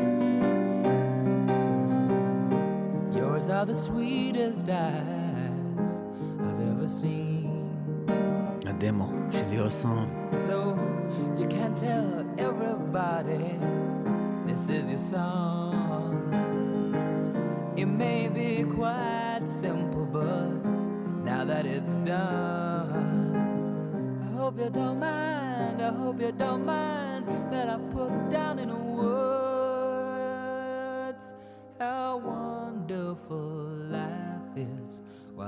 yours are the sweetest eyes I've ever seen. הדמו של Your Song. So you can tell everybody this is your song. It may be quite simple, but now that it's done, I hope you don't mind, I hope you don't mind that I put down in words how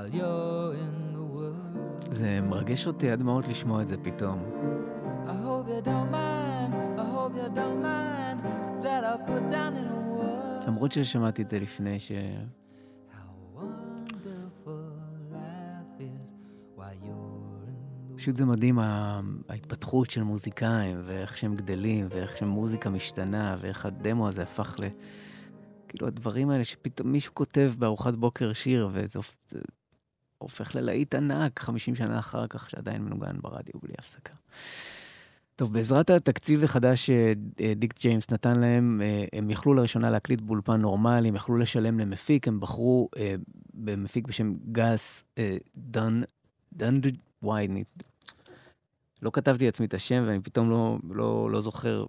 while you're in the world. זה מרגש אותי עד מאוד לשמוע את זה פתאום. I hope you don't mind, I hope you don't mind that I put down in a word. למרות ששמעתי את זה לפני ש... How wonderful life is while you're in the פשוט זה מדהים ההתפתחות של מוזיקאים, ואיך שהם גדלים, ואיך שמוזיקה משתנה, ואיך הדמו הזה הפך ל... כאילו הדברים האלה שפתאום מישהו כותב בארוחת בוקר שיר, וזה הופך ללהיט ענק חמישים שנה אחר כך, שעדיין מנוגן ברדיו בלי הפסקה. טוב, בעזרת התקציב החדש שדיק ג'יימס נתן להם, הם יכלו לראשונה להקליט באולפן נורמלי, הם יכלו לשלם למפיק, הם בחרו במפיק בשם גאס דן, דן וואי, אני לא כתבתי עצמי את השם, ואני פתאום לא, לא, לא זוכר,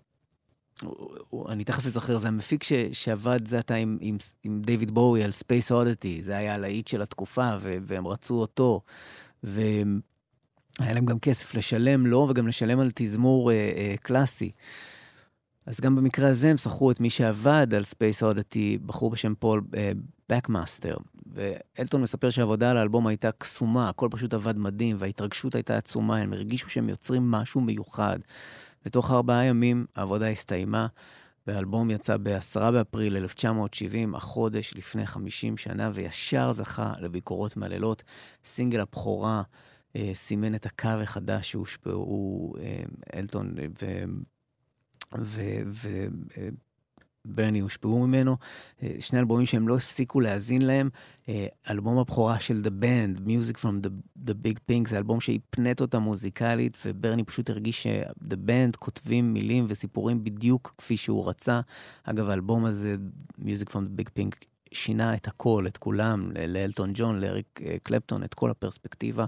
אני תכף אזכר, זה המפיק ש, שעבד זה עתה עם, עם, עם דיוויד בואי על Space Oddity, זה היה הלהיט של התקופה, ו, והם רצו אותו, והיה להם גם כסף לשלם לו, וגם לשלם על תזמור אה, אה, קלאסי. אז גם במקרה הזה הם שכרו את מי שעבד על Space Oddity, בחור בשם פול אה, בקמאסטר, ואלטון מספר שהעבודה על האלבום הייתה קסומה, הכל פשוט עבד מדהים, וההתרגשות הייתה עצומה, הם הרגישו שהם יוצרים משהו מיוחד. ותוך ארבעה ימים העבודה הסתיימה, והאלבום יצא ב-עשרה באפריל אלף תשע מאות שבעים, החודש לפני חמישים שנה, וישר זכה לביקורות מללות. סינגל הבכורה אה, סימן את הקו החדש שהושפעו אה, אלטון ו... ו... ו... אה, ברני הושפעו ממנו, שני אלבומים שהם לא הפסיקו להזין להם, אלבום הבכורה של The Band, Music from the, the Big Pink, זה אלבום שהפנט אותה מוזיקלית, וברני פשוט הרגיש ש-The Band כותבים מילים וסיפורים בדיוק כפי שהוא רצה. אגב, האלבום הזה, Music from the Big Pink, שינה את הכל, את כולם, לאלטון ג'ון, לאריק קלפטון, את כל הפרספקטיבה.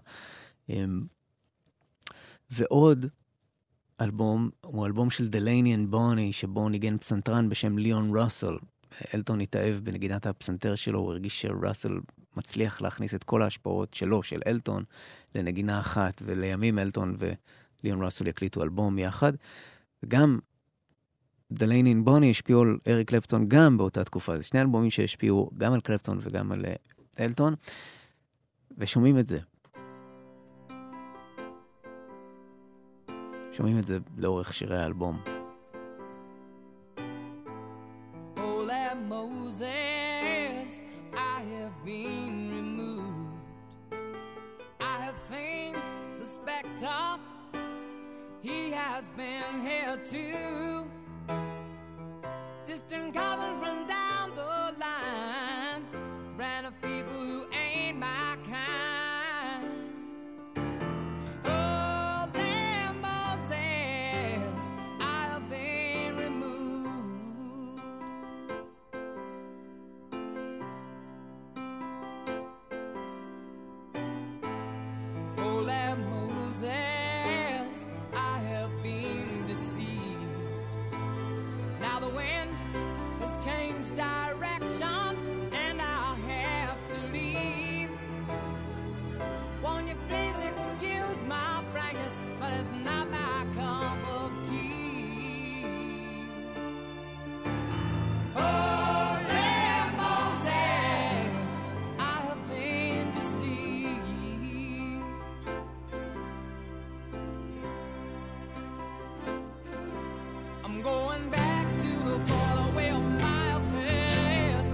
ועוד, אלבום, הוא אלבום של דלייני אנד בוני, שבו ניגן פסנתרן בשם ליאון ראסל. אלטון התאהב בנגינת הפסנתר שלו, הוא הרגיש שראסל מצליח להכניס את כל ההשפעות שלו, של אלטון, לנגינה אחת, ולימים אלטון וליאון ראסל יקליטו אלבום יחד. וגם דלייני אנד בוני השפיעו על אריק קלפטון גם באותה תקופה. זה שני אלבומים שהשפיעו גם על קלפטון וגם על אלטון, ושומעים את זה. שומעים את זה לאורך שירי האלבום. Oh, that Moses, I have been removed. I have seen the spectre. He has been here too. Distant cousin from down the line. Brand of people who ain't my kind. I have been deceived. Now the wind has changed direction and I'll have to leave. Won't you please excuse my frankness, but it's not my cup of tea. Holy Moses, I have been deceived. I'm going back to the border where my affairs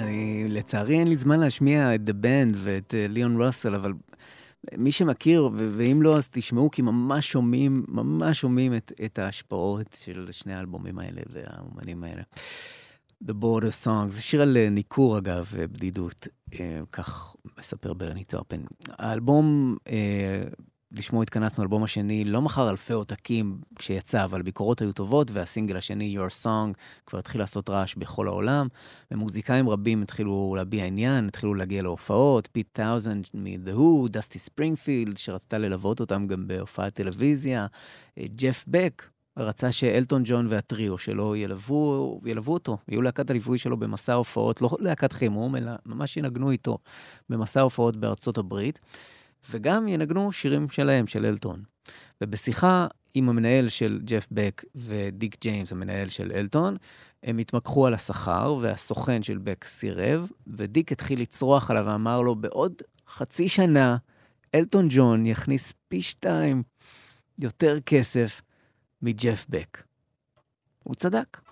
אני, לצערי אין לי זמן להשמיע את The Band ואת ליאון רוסל, אבל מי שמכיר, ו- ואם לא, אז תשמעו, כי ממש שומעים, ממש שומעים את, את ההשפעות של שני האלבומים האלה והאומנים האלה. The Border Song, זה שיר על ניקור אגב, בדידות, כך מספר ברני טופן. האלבום, לשמו התכנסנו, האלבום השני, לא מכר אלפי עותקים כשיצא, אבל ביקורות היו טובות, והסינגל השני, Your Song, כבר התחיל לעשות רעש בכל העולם, ומוזיקאים רבים התחילו להביע עניין, התחילו להגיע להופעות, פיט טאוזנד מ-The Who, דסטי ספרינגפילד, שרצתה ללוות אותם גם בהופעת טלוויזיה, ג'ף בק, רצה שאלטון ג'ון והטריו שלו ילוו, ילוו אותו, יהיו להקת הליווי שלו במסע הופעות, לא להקת חימום, אלא ממש ינגנו איתו במסע הופעות בארצות הברית, וגם ינגנו שירים שלהם, של אלטון. ובשיחה עם המנהל של ג'ף בק ודיק ג'יימס, המנהל של אלטון, הם התמקחו על השכר, והסוכן של בק סירב, ודיק התחיל לצרוח עליו ואמר לו, בעוד חצי שנה, אלטון ג'ון יכניס פי שתיים יותר כסף מג'ף בק. הוא צדק.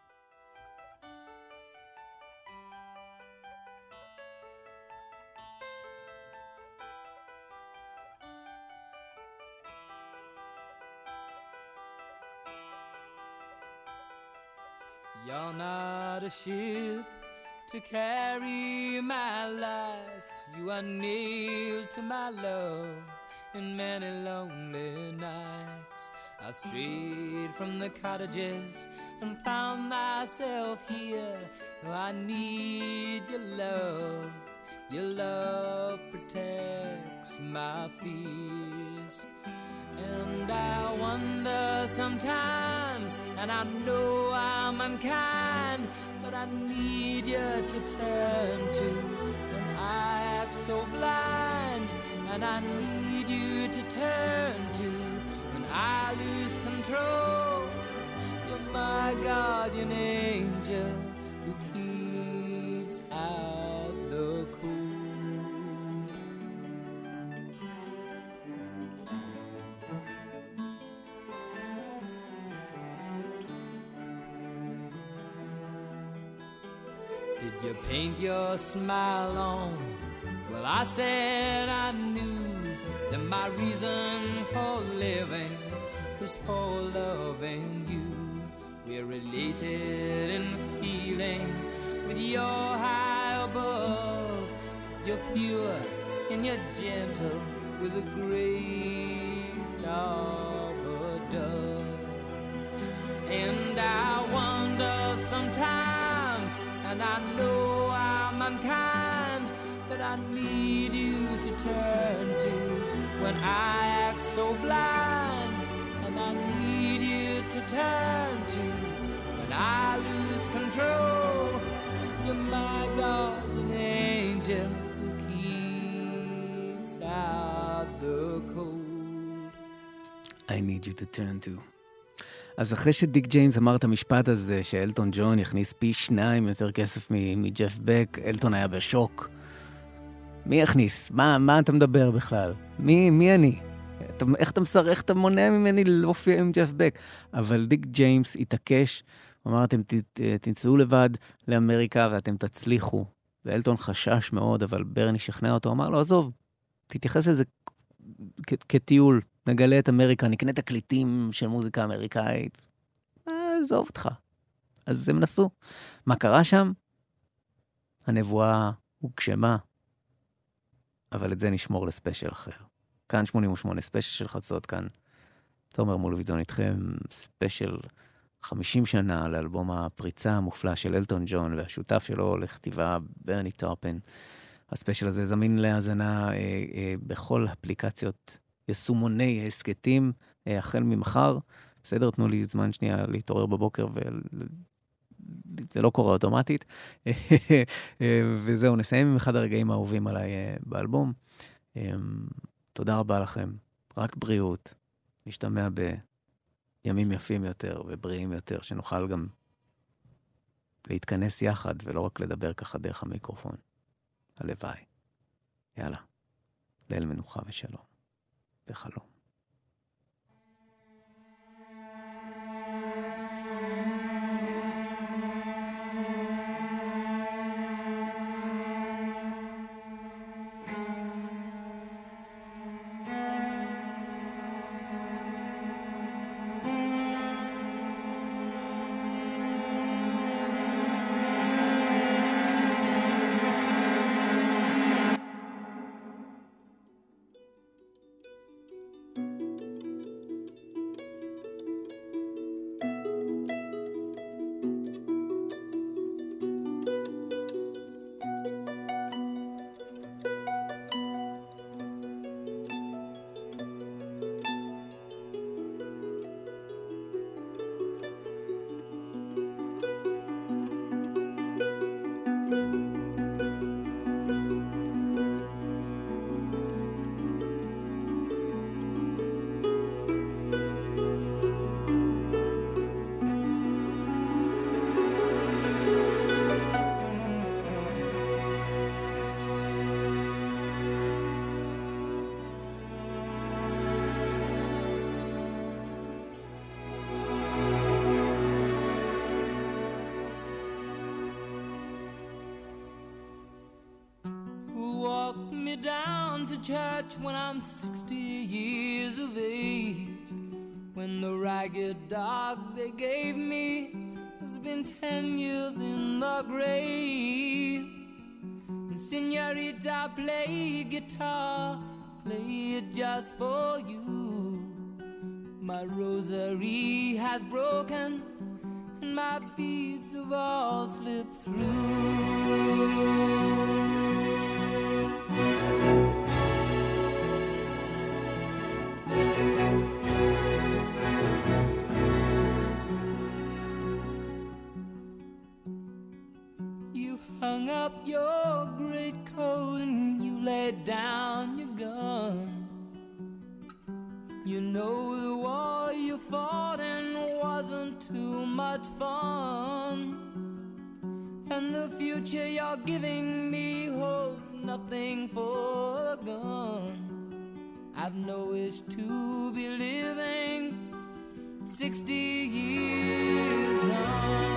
You're not a ship to carry my life. You are nailed to my love in many lonely nights. I strayed from the cottages and found myself here. I need your love. Your love protects my fears. And I wonder sometimes, and I know I'm unkind, but I need you to turn to when I act so blind. And I need you to turn to when I lose control. You're my guardian angel who keeps out the cold. Did you paint your smile on? Well, I said I knew that my reason for living was for loving you. We're related in feeling with your high above. You're pure and you're gentle with the grace of a dove. And I wonder sometimes, and I know I'm unkind, but I need you to turn to when I act so blind. And I need you to turn to when I lose control. You're my guardian angel who keeps out the cold. I need you to turn to. אז אחרי שדיק ג'יימס אמר את המשפט הזה, שאלטון ג'ון יכניס פי שניים יותר כסף מג'ף בק, אלטון היה בשוק. מי יכניס? מה, מה אתה מדבר בכלל? מי, מי אני? אתה, איך אתה מסר, איך אתה מונע ממני להופיע עם ג'ף בק? אבל דיק ג'יימס התעקש, הוא אמר, אתם ת, תמצאו לבד לאמריקה ואתם תצליחו. ואלטון חשש מאוד, אבל ברני שכנע אותו, אמר לו, עזוב, תתייחס לזה כ- כטיול. נגלה את אמריקה, נקנה תקליטים של מוזיקה אמריקאית. עזוב אותך. אז הם נסו. מה קרה שם? הנבואה הוגשמה. אבל את זה נשמור לספיישל אחר. כאן שמונים ושמונה, ספיישל של חצות, כאן תומר מולביטזון איתכם, ספיישל חמישים שנה לאלבום הפריצה המופלא של אלטון ג'ון, והשותף שלו לכתיבה ברני טופן. הספיישל הזה זמין להאזנה אה, אה, בכל אפליקציות יסומוני הסקטים, אה, החל ממחר. בסדר, תנו לי זמן שנייה להתעורר בבוקר, וזה לא קורה אוטומטית. וזהו, נסיים עם אחד הרגעים האהובים עליי אה, באלבום. אה, תודה רבה לכם. רק בריאות. נשתמע בימים יפים יותר ובריאים יותר, שנוכל גם להתכנס יחד, ולא רק לדבר ככה דרך המיקרופון. הלוואי. יאללה. ליל מנוחה ושלום. וחלום. down to church when I'm sixty years of age. When the ragged dog they gave me has been ten years in the grave. And señorita, play guitar, play it just for you. My rosary has broken and my beads have all slipped through. Hung up your great coat and you laid down your gun. You know the war you fought in wasn't too much fun. And the future you're giving me holds nothing for a gun. I've no wish to be living sixty years on.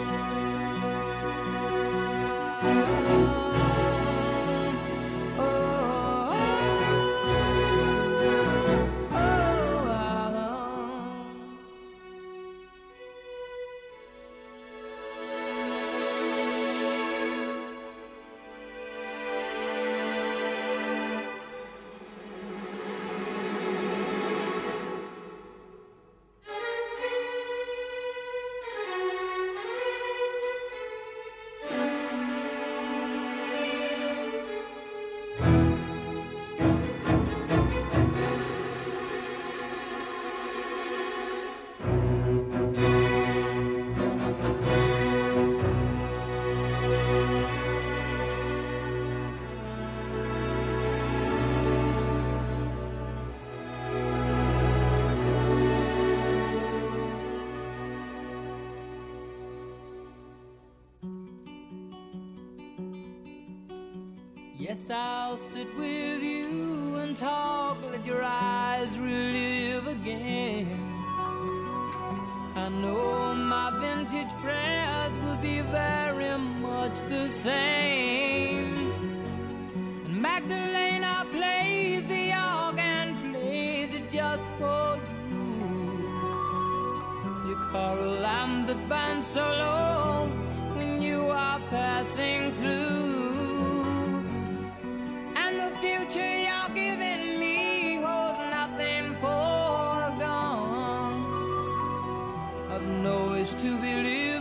Yes, I'll sit with you and talk, let your eyes relive again. I know my vintage prayers will be very much the same. And Magdalena plays the organ, plays it just for you. You carol lamb that bands so low when you are passing through. Future you're giving me holds nothing for gone. I've no wish to believe